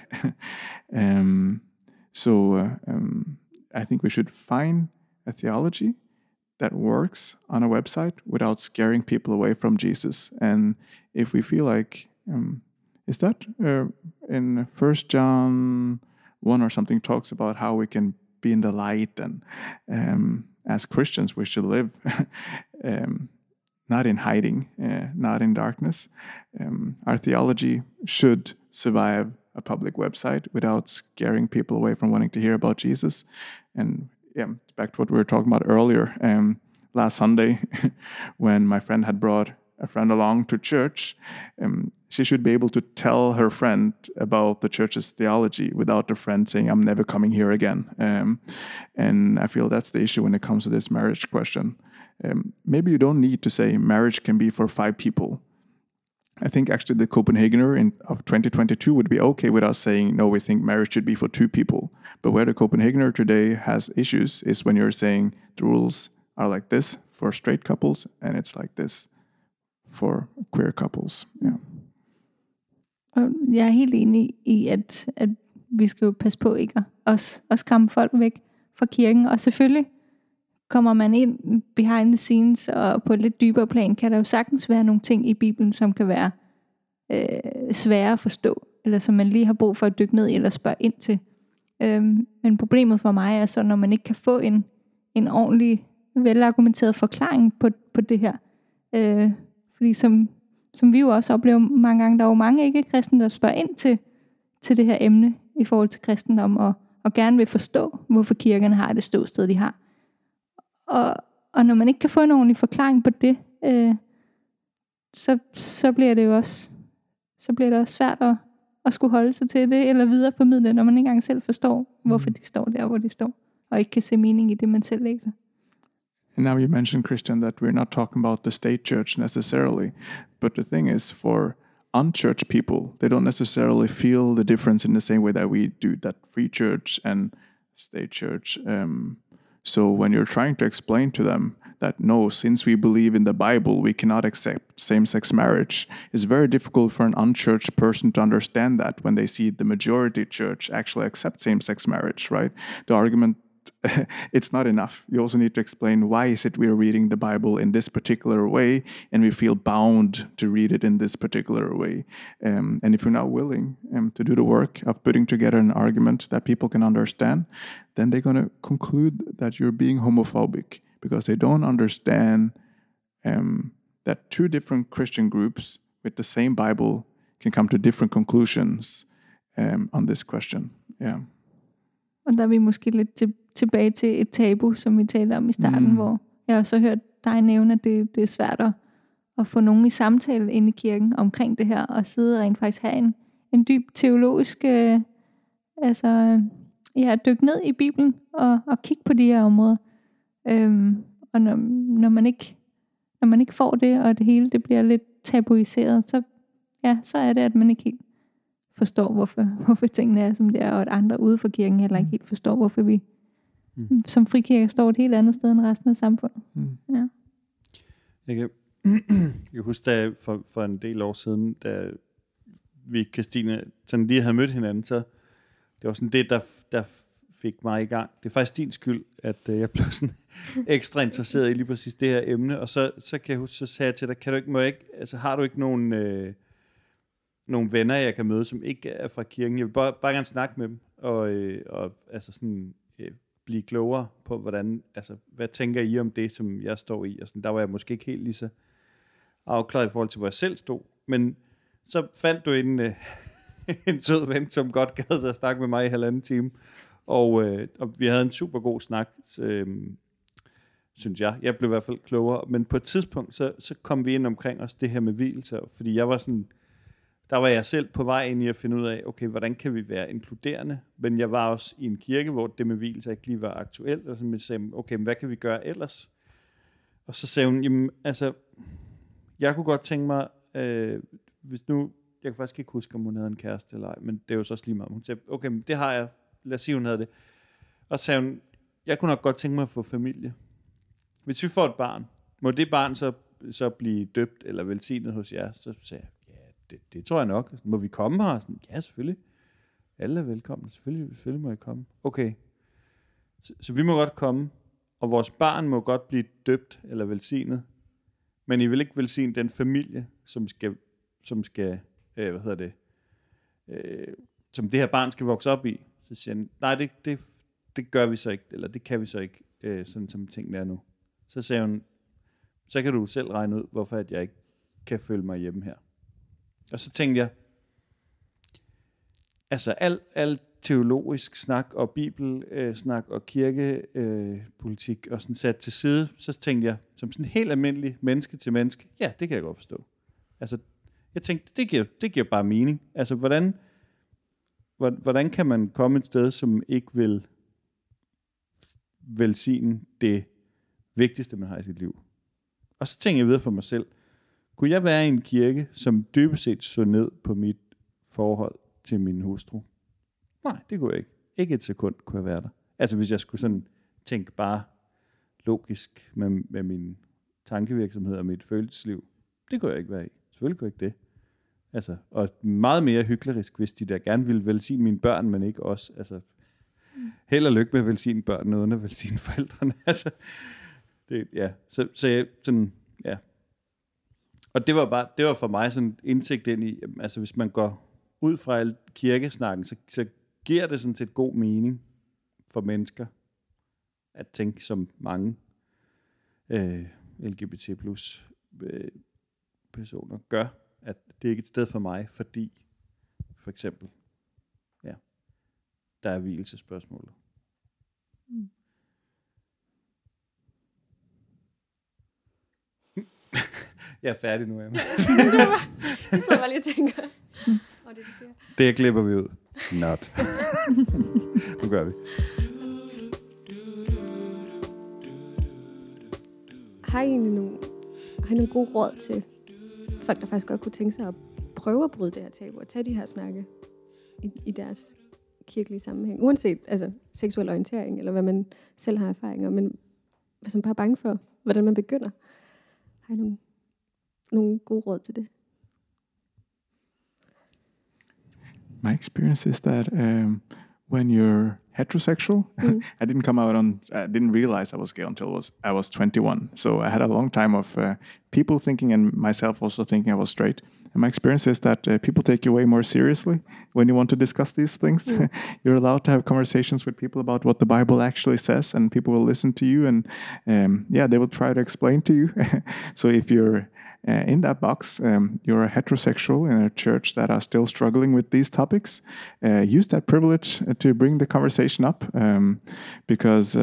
I think we should find a theology that works on a website without scaring people away from Jesus. And if we feel like, is that in 1 John 1 or something talks about how we can be in the light, and as Christians we should live not in hiding, not in darkness. Our theology should survive a public website without scaring people away from wanting to hear about Jesus. And back to what we were talking about earlier, last Sunday, when my friend had brought a friend along to church, she should be able to tell her friend about the church's theology without the friend saying, I'm never coming here again. And I feel that's the issue when it comes to this marriage question. Maybe you don't need to say marriage can be for 5 people. I think actually the Copenhagener of 2022 would be okay with us saying, no, we think marriage should be for 2 people. But where the Copenhagener today has issues is when you're saying the rules are like this for straight couples, and it's like this for queer couples. Yeah. Og jeg er helt enig i, at vi skal jo passe på ikke at skræmme folk væk fra kirken. Og selvfølgelig kommer man ind behind the scenes, og på et lidt dybere plan, kan der jo sagtens være nogle ting i Bibelen, som kan være svære at forstå, eller som man lige har brug for at dykke ned i, eller spørge ind til. Men problemet for mig er så, når man ikke kan få en ordentlig, velargumenteret forklaring på det her. Fordi som vi jo også oplever mange gange, der er jo mange ikke-kristne, der spørger ind til det her emne i forhold til kristendom, og gerne vil forstå, hvorfor kirkerne har det ståsted, de har. Og når man ikke kan få en ordentlig forklaring på det, så bliver det jo også svært at skulle holde sig til det, eller videreformidle, når man ikke engang selv forstår, hvorfor de står der, hvor de står, og ikke kan se mening i det, man selv læser. And now you mentioned, Christian, that we're not talking about the state church necessarily, but the thing is, for unchurched people, they don't necessarily feel the difference in the same way that we do, that free church and state church. So when you're trying to explain to them that no, since we believe in the Bible, we cannot accept same-sex marriage, it's very difficult for an unchurched person to understand that when they see the majority church actually accept same-sex marriage, right? The argument, it's not enough. You also need to explain why is it we're reading the Bible in this particular way, and we feel bound to read it in this particular way. And if you're not willing to do the work of putting together an argument that people can understand, then they're going to conclude that you're being homophobic, because they don't understand that 2 different Christian groups with the same Bible can come to different conclusions on this question. Yeah. Og der er vi måske lidt tilbage til et tabu, som vi talte om i starten, hvor jeg også har hørt dig nævne, at det er svært at få nogen i samtale inde i kirken omkring det her, og sidde og rent faktisk have en dyb teologisk, dykke ned i Bibelen og kigge på de her områder. Og når man ikke får det, og det hele det bliver lidt tabuiseret, så er det, at man ikke helt forstår, hvorfor tingene er, som det er, og at andre ude for kirken heller ikke helt forstår, hvorfor vi som frikirke står et helt andet sted end resten af samfundet. Ja. Jeg kan huske, da for en del år siden, da vi, Christine, sådan lige havde mødt hinanden, så det var sådan det, der fik mig i gang. Det er faktisk din skyld, at jeg blev sådan ekstra interesseret i lige præcis det her emne, og så kan jeg huske, så sagde jeg til dig, har du ikke nogle venner, jeg kan møde, som ikke er fra kirken? Jeg vil bare gerne snakke med dem, og blive klogere på, hvad tænker I om det, som jeg står i? Og sådan, der var jeg måske ikke helt lige så afklaret i forhold til, hvor jeg selv stod. Men så fandt du en sød ven, som godt gad sig at snakke med mig i 1,5 time. Og vi havde en super god snak, synes jeg. Jeg blev i hvert fald klogere. Men på et tidspunkt, så kom vi ind omkring os det her med vielser, fordi jeg var sådan, der var jeg selv på vej ind i at finde ud af, okay, hvordan kan vi være inkluderende? Men jeg var også i en kirke, hvor det med vielser ikke lige var aktuelt, og så jeg sagde, okay, men hvad kan vi gøre ellers? Og så sagde hun, jamen, jeg kunne godt tænke mig, hvis nu, jeg kan faktisk ikke huske, om hun havde en kæreste eller ej, men det er jo så også lige meget. Hun sagde, okay, men det har jeg, lad os sige, hun havde det. Og så sagde hun, jeg kunne nok godt tænke mig at få familie. Hvis vi får et barn, må det barn så blive døbt eller velsignet hos jer? Så sagde jeg, det tror jeg nok. Må vi komme her? Sådan, ja, selvfølgelig. Alle er velkomne. Selvfølgelig må I komme. Okay. Så vi må godt komme, og vores barn må godt blive døbt eller velsignet, men I vil ikke velsigne den familie, som det her barn skal vokse op i. Så siger han, nej, det gør vi så ikke, eller det kan vi så ikke, sådan som tingene er nu. Så sagde hun, Så kan du selv regne ud, hvorfor at jeg ikke kan føle mig hjemme her. Og så tænkte jeg, altså al teologisk snak og bibelsnak og kirkepolitik og sådan sat til side, så tænkte jeg, som sådan helt almindelig menneske til menneske, ja, det kan jeg godt forstå. Altså, jeg tænkte, det giver bare mening. Altså, hvordan kan man komme et sted, som ikke vil velsigne det vigtigste, man har i sit liv? Og så tænkte jeg videre for mig selv, kunne jeg være i en kirke, som dybest set så ned på mit forhold til min hustru? Nej, det kunne jeg ikke. Ikke et sekund kunne jeg være der. Altså hvis jeg skulle sådan tænke bare logisk med min tankevirksomhed og mit følelsesliv, det kunne jeg ikke være i. Selvfølgelig kunne jeg ikke det. Altså, og meget mere hyklerisk, hvis de der gerne ville velsigne mine børn, men ikke os. Altså, held og lykke med at velsigne børnene, uden at velsigne forældrene. Altså, det, ja. Så jeg, sådan, ja. Og det var for mig sådan indsigt ind i, altså hvis man går ud fra al kirkesnakken, så giver det sådan set god mening for mennesker at tænke som mange LGBT plus personer gør, at det ikke er et sted for mig, fordi for eksempel, ja, der er hvilesespørgsmålet. Jeg er færdig nu, Emma. Jeg sidder bare lige og tænker. Og det, du siger. Det klipper vi ud. Not. Nu gør vi. Har I nogle gode råd til folk, der faktisk godt kunne tænke sig at prøve at bryde det her tabu og tage de her snakke i deres kirkelige sammenhæng? Uanset altså, seksuel orientering, eller hvad man selv har erfaringer, men hvis man bare er bange for, hvordan man begynder. Har I nogle gode råd til det? My experience is that when you're heterosexual, I didn't realize I was gay until I was 21. So I had a long time of people thinking, and myself also thinking I was straight. And my experience is that people take you way more seriously when you want to discuss these things. You're allowed to have conversations with people about what the Bible actually says, and people will listen to you, and they will try to explain to you. So if you're in that box, you're a heterosexual in a church that are still struggling with these topics, use that privilege to bring the conversation up, because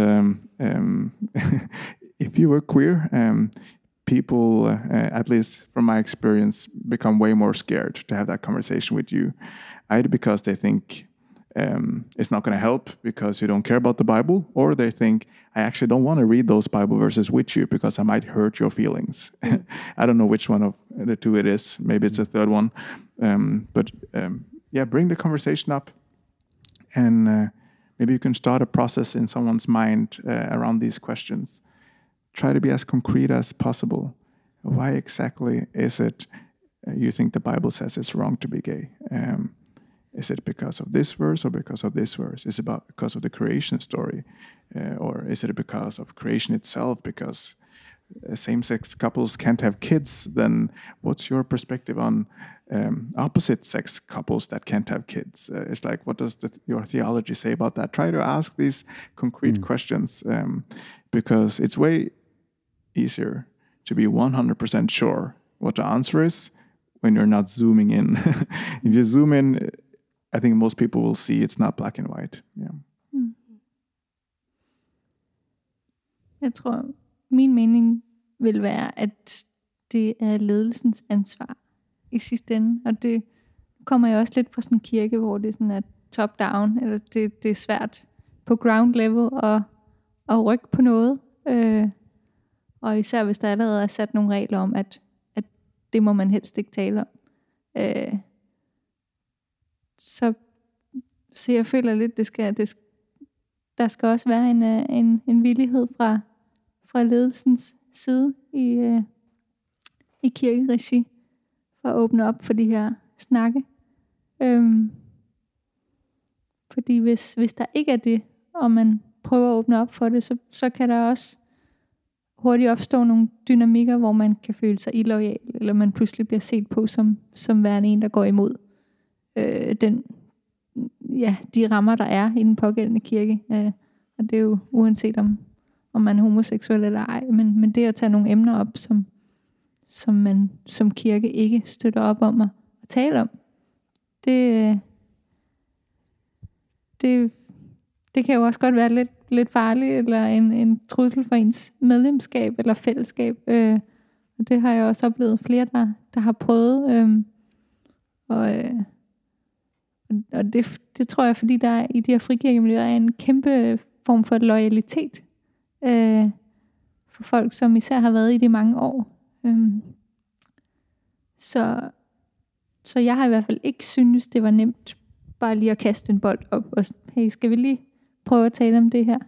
if you were queer, people, at least from my experience, become way more scared to have that conversation with you, either because they think it's not going to help because you don't care about the Bible, or they think, I actually don't want to read those Bible verses with you because I might hurt your feelings. I don't know which one of the two it is. Maybe it's a third one. But bring the conversation up, and maybe you can start a process in someone's mind around these questions. Try to be as concrete as possible. Why exactly is it you think the Bible says it's wrong to be gay? Is it because of this verse or because of this verse? Is it because of the creation story? Or is it because of creation itself? Because same-sex couples can't have kids, then what's your perspective on opposite-sex couples that can't have kids? It's like, what does your theology say about that? Try to ask these concrete questions, because it's way easier to be 100% sure what the answer is when you're not zooming in. If you zoom in, I think most people will see it's not black and white. Yeah. Jeg tror, min mening vil være, at det er ledelsens ansvar i sidste ende. Og det kommer jo også lidt fra sådan en kirke, hvor det sådan er top-down, eller det er svært på ground level at rykke på noget. Og især hvis der allerede er sat nogle regler om, at det må man helst ikke tale om. Så jeg føler lidt, der skal også være en villighed fra ledelsens side i kirkeregi for at åbne op for de her snakke. Fordi hvis der ikke er det, og man prøver at åbne op for det, så kan der også hurtigt opstå nogle dynamikker, hvor man kan føle sig illoyal, eller man pludselig bliver set på som værende en, der går imod de rammer, der er i den pågældende kirke. Og det er jo uanset om man er homoseksuel eller ej, men det at tage nogle emner op, som man som kirke ikke støtter op om at tale om, det kan jo også godt være lidt farligt, eller en trussel for ens medlemskab eller fællesskab. Og det har jeg også oplevet flere, der har prøvet. Og det tror jeg, fordi der i de her frikirkemiljøer er en kæmpe form for loyalitet for folk, som især har været i det mange år. Så jeg har i hvert fald ikke synes det var nemt bare lige at kaste en bold op og hey, skal vi lige prøve at tale om det her?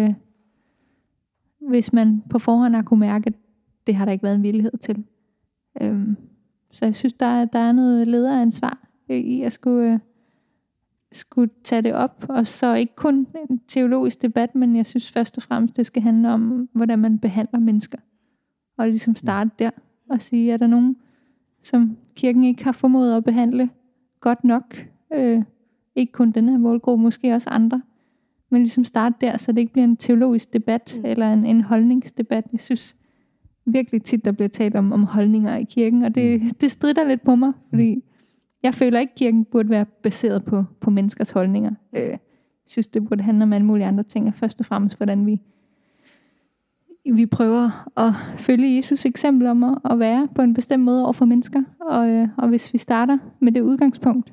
Hvis man på forhånd har kunne mærke, at det har der ikke været en villighed til. Så jeg synes, der er noget lederansvar i at skulle tage det op, og så ikke kun en teologisk debat, men jeg synes først og fremmest, det skal handle om, hvordan man behandler mennesker. Og ligesom starte der og sige, er der nogen, som kirken ikke har formået at behandle godt nok? Ikke kun den her målgruppe, måske også andre. Men ligesom starte der, så det ikke bliver en teologisk debat, eller en holdningsdebat. Jeg synes virkelig tit, der bliver talt om holdninger i kirken, og det strider lidt på mig, fordi jeg føler ikke, at kirken burde være baseret på menneskers holdninger. Jeg synes, det burde handle om alle mulige andre ting, og først og fremmest, hvordan vi prøver at følge Jesus eksempel om at være på en bestemt måde over for mennesker. Og hvis vi starter med det udgangspunkt,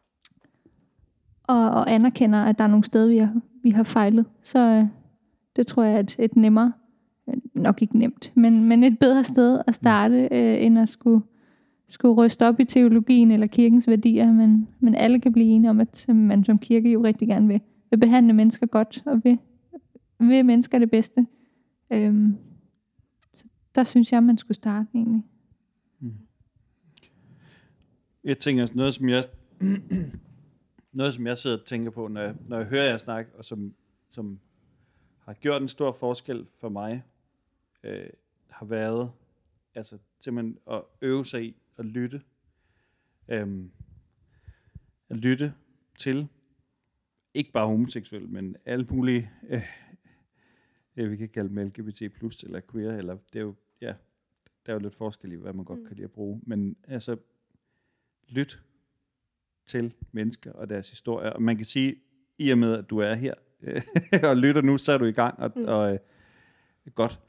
og anerkender, at der er nogle steder, vi har fejlet, så det tror jeg er et nemmere, nok ikke nemt, men et bedre sted at starte, end at skulle ryste op i teologien eller kirkens værdier, men alle kan blive enige om, at man som kirke jo rigtig gerne vil behandle mennesker godt, og vil mennesker det bedste. Så der synes jeg, man skulle starte egentlig. Jeg tænker, noget som jeg sidder og tænker på, når jeg hører jer snakke, og som har gjort en stor forskel for mig, har været altså simpelthen at øve sig i at lytte. At lytte til ikke bare homoseksuelle, men alle mulige, vi kan kalde dem LGBT+, eller queer, eller det er jo, ja, der er jo lidt forskel i, hvad man godt kan lide at bruge, men altså lyt til mennesker og deres historier, og man kan sige, i og med at du er her og lytter nu, så er du i gang, og godt.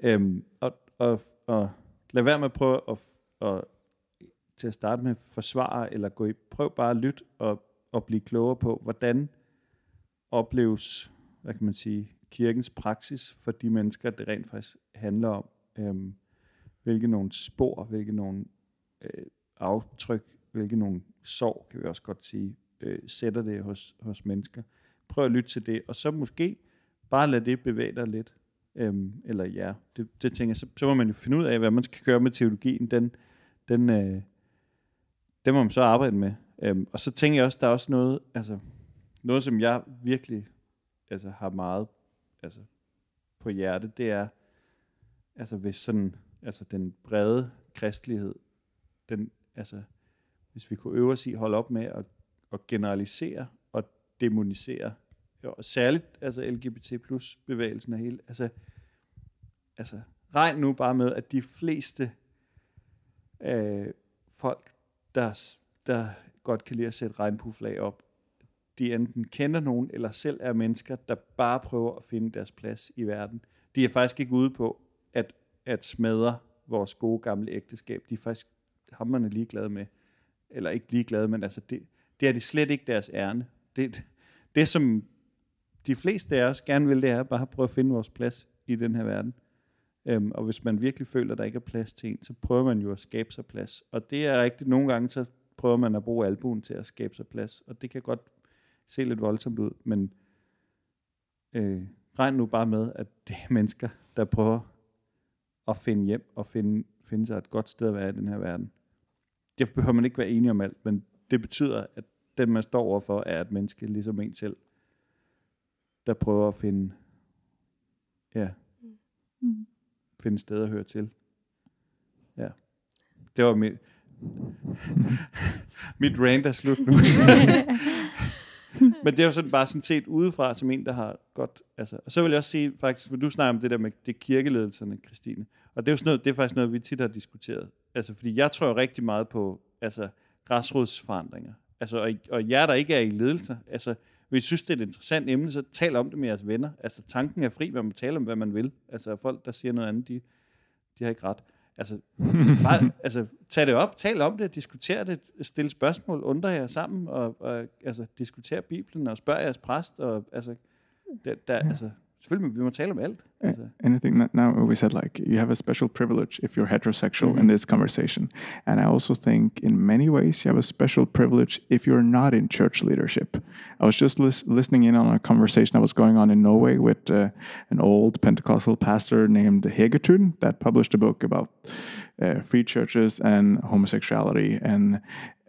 Og lad være med at prøve at til at starte med forsvare, eller prøv bare at lytte og blive klogere på, hvordan opleves, hvad kan man sige, kirkens praksis for de mennesker, det rent faktisk handler om. Hvilke nogle spor, hvilke nogle aftryk, hvilke nogle sorg, kan vi også godt sige, sætter det hos mennesker. Prøv at lytte til det, og så måske bare lade det bevæge dig lidt. Eller ja, det tænker jeg, så må man jo finde ud af, hvad man skal gøre med teologien. Den må man så arbejde med. Og så tænker jeg også, der er også noget, som jeg virkelig har meget på hjerte, det er, hvis sådan, den brede kristelighed, hvis vi kunne øve os i at holde op med at generalisere og dæmonisere, og særligt LGBT+ bevægelsen af hele, regn nu bare med, at de fleste folk, der godt kan lide at sætte regnbueflag op, de enten kender nogen, eller selv er mennesker, der bare prøver at finde deres plads i verden. De er faktisk ikke ude på at smadre vores gode gamle ægteskab. De er faktisk hamrende ligeglade med, eller ikke ligeglade, men det er de slet ikke deres ærne. Det som de fleste af os gerne vil, det er bare at prøve at finde vores plads i den her verden. Og hvis man virkelig føler, at der ikke er plads til en, så prøver man jo at skabe sig plads. Og det er rigtigt. Nogle gange, så prøver man at bruge albuen til at skabe sig plads. Og det kan godt se lidt voldsomt ud, men regn nu bare med, at det er mennesker, der prøver at finde hjem og finde sig et godt sted at være i den her verden. Det behøver man ikke være enig om alt, men det betyder, at den man står overfor, er et menneske, ligesom en selv, der prøver at finde sted at høre til. Ja. Det var mit rant er slut nu. Men det er jo sådan bare sådan set udefra, som en, der har godt... Altså, og så vil jeg også sige, faktisk, for du snakker om det der med det kirkeledelserne, Christine. Og det er jo sådan noget, det er faktisk noget, vi tit har diskuteret. Altså, fordi jeg tror rigtig meget på græsrodsforandringer. Altså, og jer, der ikke er i ledelser, altså, hvis I synes, det er et interessant emne, så tal om det med jeres venner. Altså, tanken er fri, man må tale om, hvad man vil. Altså, folk, der siger noget andet, de har ikke ret. Altså, bare, tag det op, tal om det, diskuter det, stille spørgsmål, undre jer sammen, og diskutere Bibelen, og spørg jeres præst, og selvfølgelig, vi må tale om alt. And I think now we said, like, you have a special privilege if you're heterosexual in this conversation. And I also think in many ways you have a special privilege if you're not in church leadership. I was just listening in on a conversation that was going on in Norway with an old Pentecostal pastor named Hegertun that published a book about free churches and homosexuality. And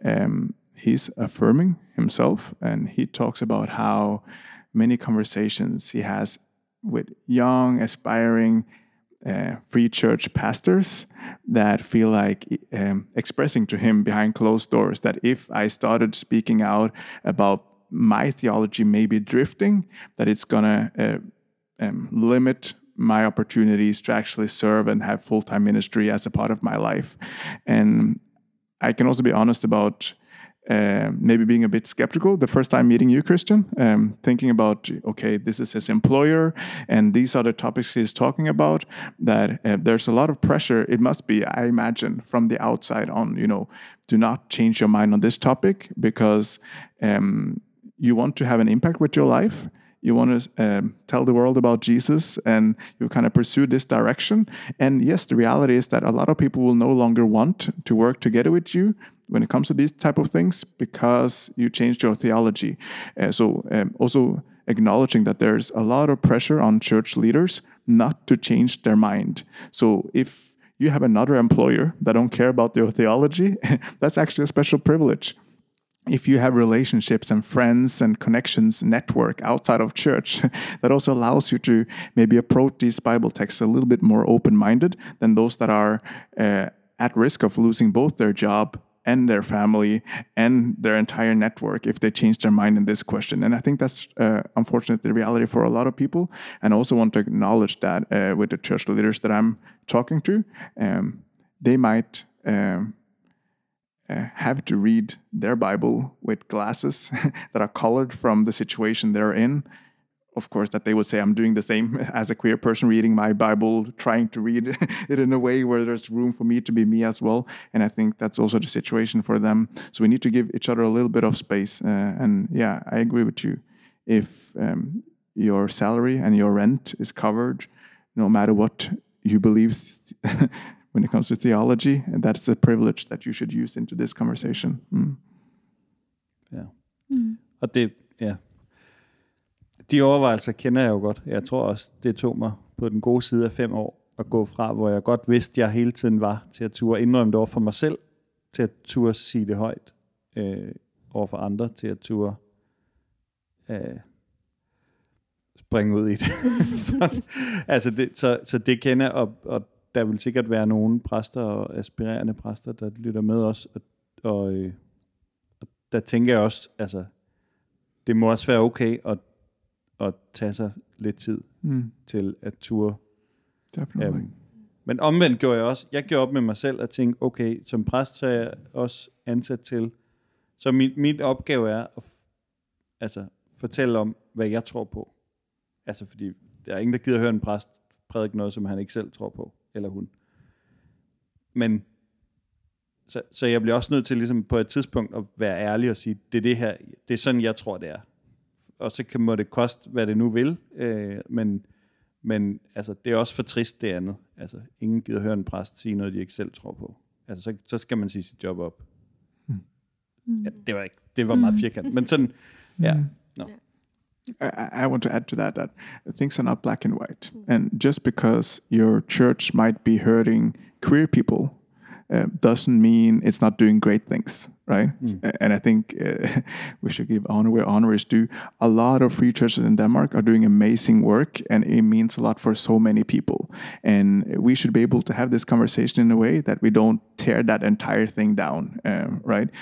he's affirming himself, and he talks about how many conversations he has with young, aspiring free church pastors that feel like expressing to him behind closed doors that if I started speaking out about my theology maybe drifting, that it's going to limit my opportunities to actually serve and have full-time ministry as a part of my life. And I can also be honest about maybe being a bit skeptical the first time meeting you, Christian, thinking about, okay, this is his employer and these are the topics he's talking about, that there's a lot of pressure, it must be, I imagine, from the outside on, do not change your mind on this topic because you want to have an impact with your life. You want to tell the world about Jesus and you kind of pursue this direction. And yes, the reality is that a lot of people will no longer want to work together with you when it comes to these type of things because you changed your theology. Also acknowledging that there's a lot of pressure on church leaders not to change their mind. So if you have another employer that don't care about your theology, that's actually a special privilege. If you have relationships and friends and connections, network outside of church, that also allows you to maybe approach these Bible texts a little bit more open-minded than those that are at risk of losing both their job and their family and their entire network if they change their mind in this question. And I think that's unfortunately the reality for a lot of people. And I also want to acknowledge that with the church leaders that I'm talking to, they might have to read their Bible with glasses that are colored from the situation they're in. Of course, that they would say, I'm doing the same as a queer person reading my Bible, trying to read it in a way where there's room for me to be me as well. And I think that's also the situation for them. So we need to give each other a little bit of space. And yeah, I agree with you. If your salary and your rent is covered, no matter what you believe when it comes to theology, and that's a privilege that you should use into this conversation. Ja. Og det, de overvejelser kender jeg jo godt. Jeg tror også, det tog mig på den gode side af 5 år at gå fra, hvor jeg godt vidste, jeg hele tiden var, til at turde indrømme det over for mig selv, til at turde sige det højt over for andre, til at turde springe ud i det. så det kender, og der vil sikkert være nogle præster og aspirerende præster, der lytter med os, og der tænker jeg også, altså, det må også være okay at tage sig lidt tid til at ture. Men omvendt gjorde jeg gjorde op med mig selv og tænkte, okay, som præst så er jeg også ansat til, så min opgave er at fortælle om, hvad jeg tror på. Altså fordi der er ingen, der gider høre en præst prædike noget, som han ikke selv tror på, eller hun. Men så jeg bliver også nødt til ligesom på et tidspunkt at være ærlig og sige, det er det her, det er sådan, jeg tror, det er. Og så må det koste, hvad det nu vil, men altså, det er også for trist det andet. Altså, ingen gider høre en præst sige noget, de ikke selv tror på. Altså, så skal man sige sit job op. Ja, det var meget firkantet, men sådan, ja. No. I want to add to that things are not black and white. And just because your church might be hurting queer people doesn't mean it's not doing great things, right? And I think we should give honor where honor is due. A lot of free churches in Denmark are doing amazing work, and it means a lot for so many people. And we should be able to have this conversation in a way that we don't tear that entire thing down, right?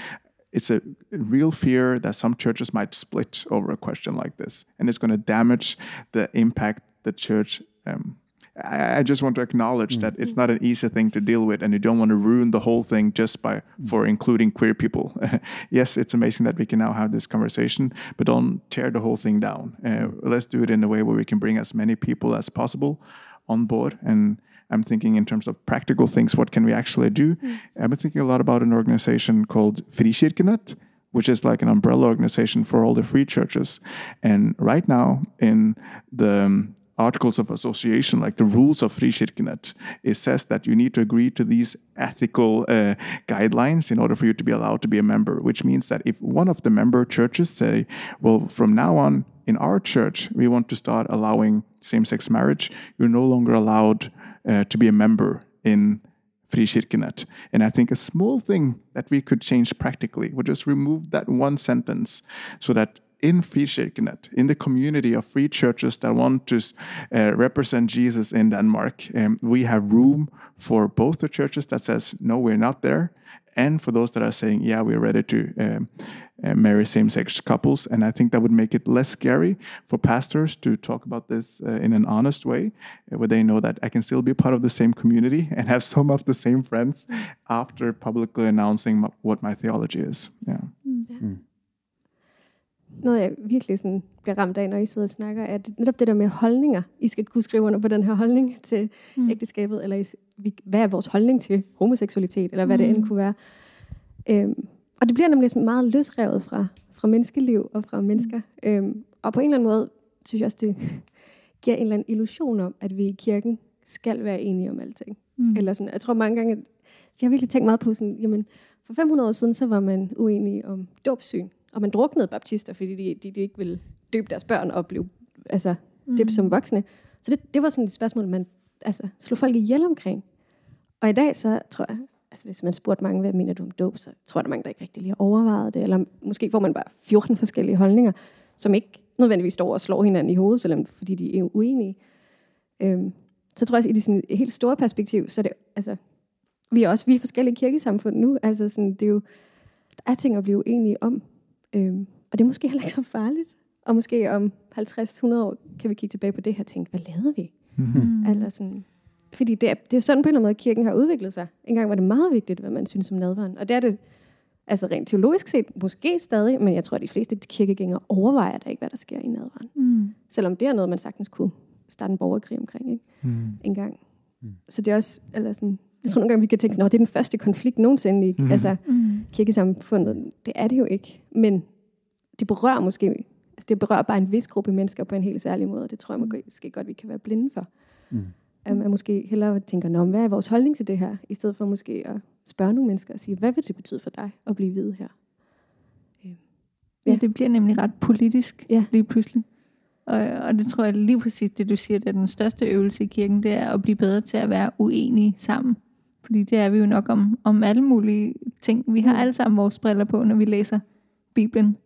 it's a real fear that some churches might split over a question like this, and it's going to damage the impact the church. I just want to acknowledge that it's not an easy thing to deal with, and you don't want to ruin the whole thing just for including queer people. Yes, it's amazing that we can now have this conversation, but don't tear the whole thing down. Let's do it in a way where we can bring as many people as possible on board. And I'm thinking in terms of practical things, what can we actually do? I've been thinking a lot about an organization called Frikirkenet, which is like an umbrella organization for all the free churches. And right now in the Articles of Association, like the rules of Frikirkenet, it says that you need to agree to these ethical guidelines in order for you to be allowed to be a member, which means that if one of the member churches say, well, from now on in our church, we want to start allowing same-sex marriage, you're no longer allowed to be a member in Frikirkenet. And I think a small thing that we could change practically would just remove that one sentence so that in Frikirkenet, in the community of free churches that want to represent Jesus in Denmark, we have room for both the churches that says, no, we're not there, and for those that are saying, yeah, we're ready to marry same-sex couples. And I think that would make it less scary for pastors to talk about this in an honest way, where they know that I can still be part of the same community and have some of the same friends after publicly announcing what my theology is. Yeah. Noget, jeg virkelig sådan bliver ramt af, når I sidder og snakker, er netop det der med holdninger. I skal kunne skrive under på den her holdning til ægteskabet, eller hvad er vores holdning til homoseksualitet, eller hvad det end kunne være. Og det bliver nemlig meget løsrevet fra menneskeliv og fra mennesker. Og på en eller anden måde, synes jeg også, det giver en eller anden illusion om, at vi i kirken skal være enige om alting. Eller sådan, jeg tror mange gange, jeg har virkelig tænkt meget på sådan, jamen, for 500 år siden, så var man uenige om dåbssyn. Og man druknede baptister, fordi de ikke ville døbe deres børn og blive døbt som voksne. Så det var sådan et spørgsmål, man slog folk ihjel omkring. Og i dag, så tror jeg, hvis man spurgte mange, hvad mener du om dåb, så tror jeg, der er mange, der ikke rigtig lige har overvejet det. Eller måske får man bare 14 forskellige holdninger, som ikke nødvendigvis står og slår hinanden i hovedet, selvom fordi de er uenige. Så tror jeg, at i det sådan helt store perspektiv, så er det, vi er forskellige kirkesamfund nu. Altså sådan, det er jo, der er ting at blive uenige om. Og det er måske heller ikke så farligt. Og måske om 50-100 år kan vi kigge tilbage på det her og tænke, hvad lavede vi? Eller sådan, fordi det er sådan på en eller anden måde, kirken har udviklet sig. Engang var det meget vigtigt, hvad man synes om nadveren. Og det er det, rent teologisk set, måske stadig, men jeg tror, at de fleste kirkegængere overvejer da ikke, hvad der sker i nadveren. Selvom det er noget, man sagtens kunne starte en borgerkrig omkring, ikke? Engang. Så det er også, eller sådan, jeg tror nogle gange, vi kan tænke, at det er den første konflikt nogensinde i kirkesamfundet. Det er det jo ikke. Men det berører måske, det berører bare en vis gruppe mennesker på en helt særlig måde. Det tror jeg måske godt, vi kan være blinde for. At man måske hellere tænker, hvad er vores holdning til det her? I stedet for måske at spørge nogle mennesker og sige, hvad vil det betyde for dig at blive hvide her? Ja, det bliver nemlig ret politisk lige pludselig. Og det tror jeg lige præcis, det du siger, det er den største øvelse i kirken, det er at blive bedre til at være uenige sammen. Fordi det er vi jo nok om alle mulige ting. Vi har alle sammen vores briller på, når vi læser Bibelen.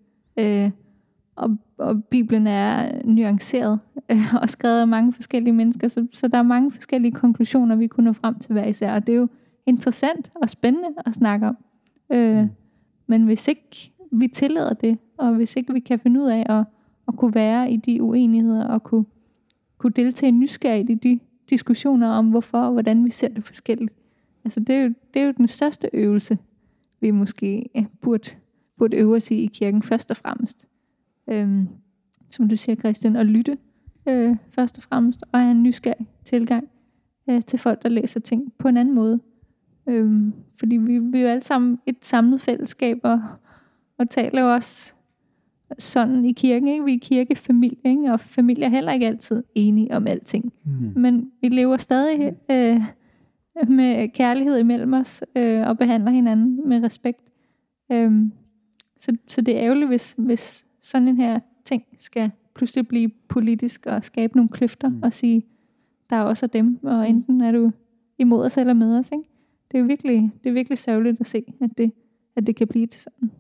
Og Bibelen er nuanceret og skrevet af mange forskellige mennesker, så der er mange forskellige konklusioner, vi kunne nå frem til hver især. Og det er jo interessant og spændende at snakke om. Men hvis ikke vi tillader det, og hvis ikke vi kan finde ud af at kunne være i de uenigheder, og kunne deltage nysgerrigt i de diskussioner om, hvorfor og hvordan vi ser det forskelligt. Altså det er jo den største øvelse, vi måske burde øve os i kirken først og fremmest. Som du siger, Christian, at lytte først og fremmest, og have en nysgerrig tilgang til folk, der læser ting på en anden måde. Fordi vi er jo alle sammen et samlet fællesskab, og taler jo også sådan i kirken, ikke? Vi er kirkefamilie, ikke? Og familier er heller ikke altid enige om alting. Men vi lever stadig med kærlighed imellem os, og behandler hinanden med respekt. Så det er ærgerligt, hvis sådan en her ting skal pludselig blive politisk og skabe nogle kløfter og sige, der er også dem, og enten er du imod os eller med os. Ikke? Det er virkelig sørgeligt at se, at det kan blive til sådan.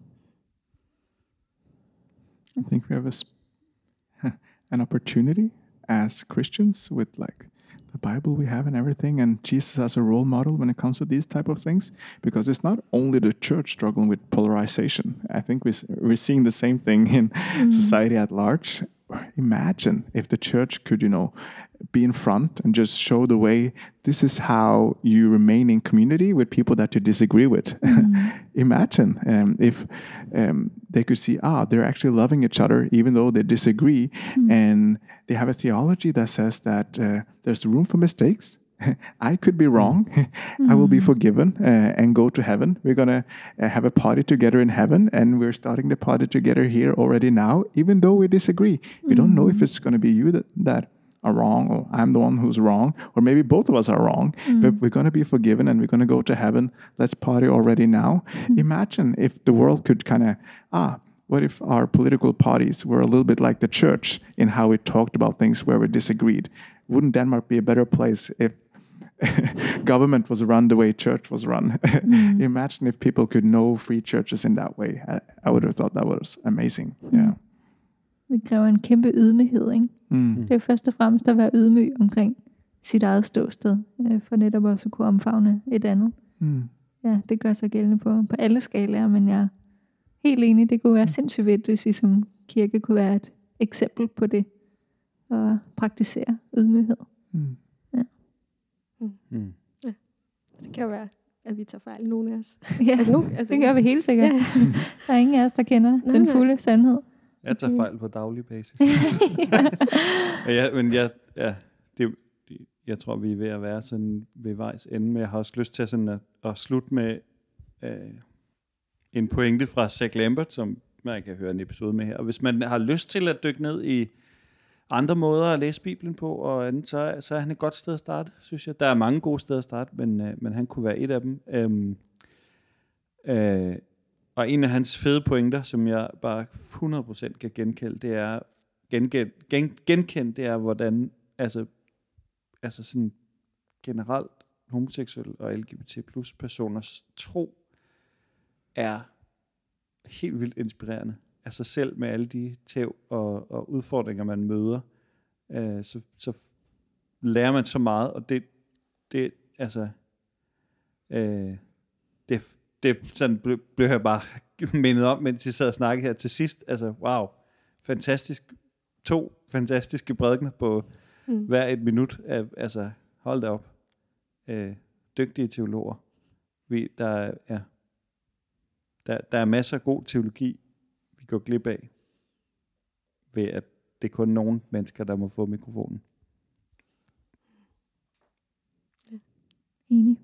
I think we have an opportunity as Christians with like the Bible we have and everything, and Jesus as a role model when it comes to these type of things, because it's not only the church struggling with polarization. I think we're seeing the same thing in society at large. Imagine if the church could, be in front and just show the way. This is how you remain in community with people that you disagree with. Imagine if they could see, they're actually loving each other even though they disagree, and they have a theology that says that there's room for mistakes. I could be wrong. I will be forgiven and go to heaven. We're going to have a party together in heaven, and we're starting the party together here already now, even though we disagree. We don't know if it's going to be you that are wrong, or I'm the one who's wrong, or maybe both of us are wrong, but we're going to be forgiven and we're going to go to heaven. Let's party already now. Imagine if the world could kind of, what if our political parties were a little bit like the church in how we talked about things where we disagreed? Wouldn't Denmark be a better place if government was run the way church was run? Imagine if people could know free churches in that way. I would have thought that was amazing. Yeah. Det kræver en kæmpe ydmyghed, ikke? Det er først og fremmest at være ydmyg omkring sit eget ståsted, for netop også at kunne omfavne et andet. Ja, det gør sig gældende på alle skalaer, men jeg er helt enig, det kunne være sindssygt fedt, hvis vi som kirke kunne være et eksempel på det, og praktisere ydmyghed. Ja. Det kan jo være, at vi tager fejl, nogen af os. Ja, det gør vi helt sikkert. Der er ingen af os, der kender den fulde sandhed. Jeg tager fejl på daglig basis. Jeg tror, vi er ved at være sådan ved vejs ende, men jeg har også lyst til sådan at slutte med en pointe fra Zach Lambert, som man kan høre en episode med her. Og hvis man har lyst til at dykke ned i andre måder at læse Bibelen på, og andet, så er han et godt sted at starte, synes jeg. Der er mange gode steder at starte, men han kunne være et af dem. Og en af hans fede pointer, som jeg bare 100% kan genkende, det er, hvordan altså sådan generelt homoseksuelle og LGBT plus personers tro er helt vildt inspirerende. Altså selv med alle de tæv og udfordringer, man møder, så lærer man så meget, og det det sådan blev jeg bare mindet om, mens I sad og snakkede her til sidst. Altså, wow. Fantastisk. 2 fantastiske prædikener på hver et minut. Altså, hold da op. Dygtige teologer. Der er masser af god teologi, vi går glip af, ved at det er kun nogle mennesker, der må få mikrofonen. Enig.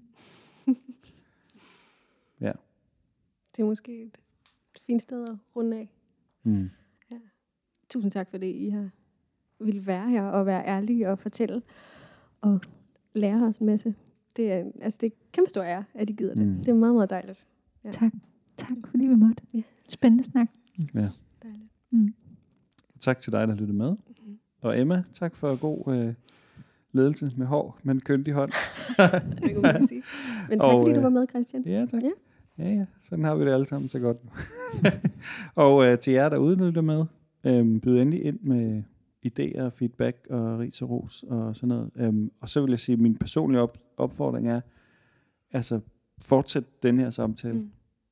Ja. Det er måske et fint sted at runde af. Ja. Tusind tak for det, I har ville være her og være ærlige og fortælle og lære os en masse. Det er kæmpe stor ære, at I gider det. Det er meget, meget dejligt. Ja. Tak fordi vi måtte. Ja. Spændende snak. Ja. Dejligt. Tak til dig, der lyttede med. Og Emma, tak for god ledelse med hår, men køndig hånd. Det kan man sige. Men tak fordi du var med, Christian. Ja, tak. Ja. Sådan har vi det alle sammen så godt. Og til jer, der udnytter med, byd endelig ind med idéer, feedback og ris og ros og sådan noget. Og så vil jeg sige, at min personlige opfordring er, altså fortsæt den her samtale.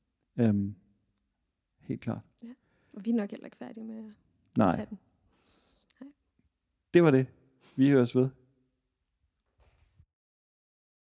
Helt klart. Ja. Og vi er nok heller ikke færdige med at tage den. Nej. Det var det. Vi høres ved.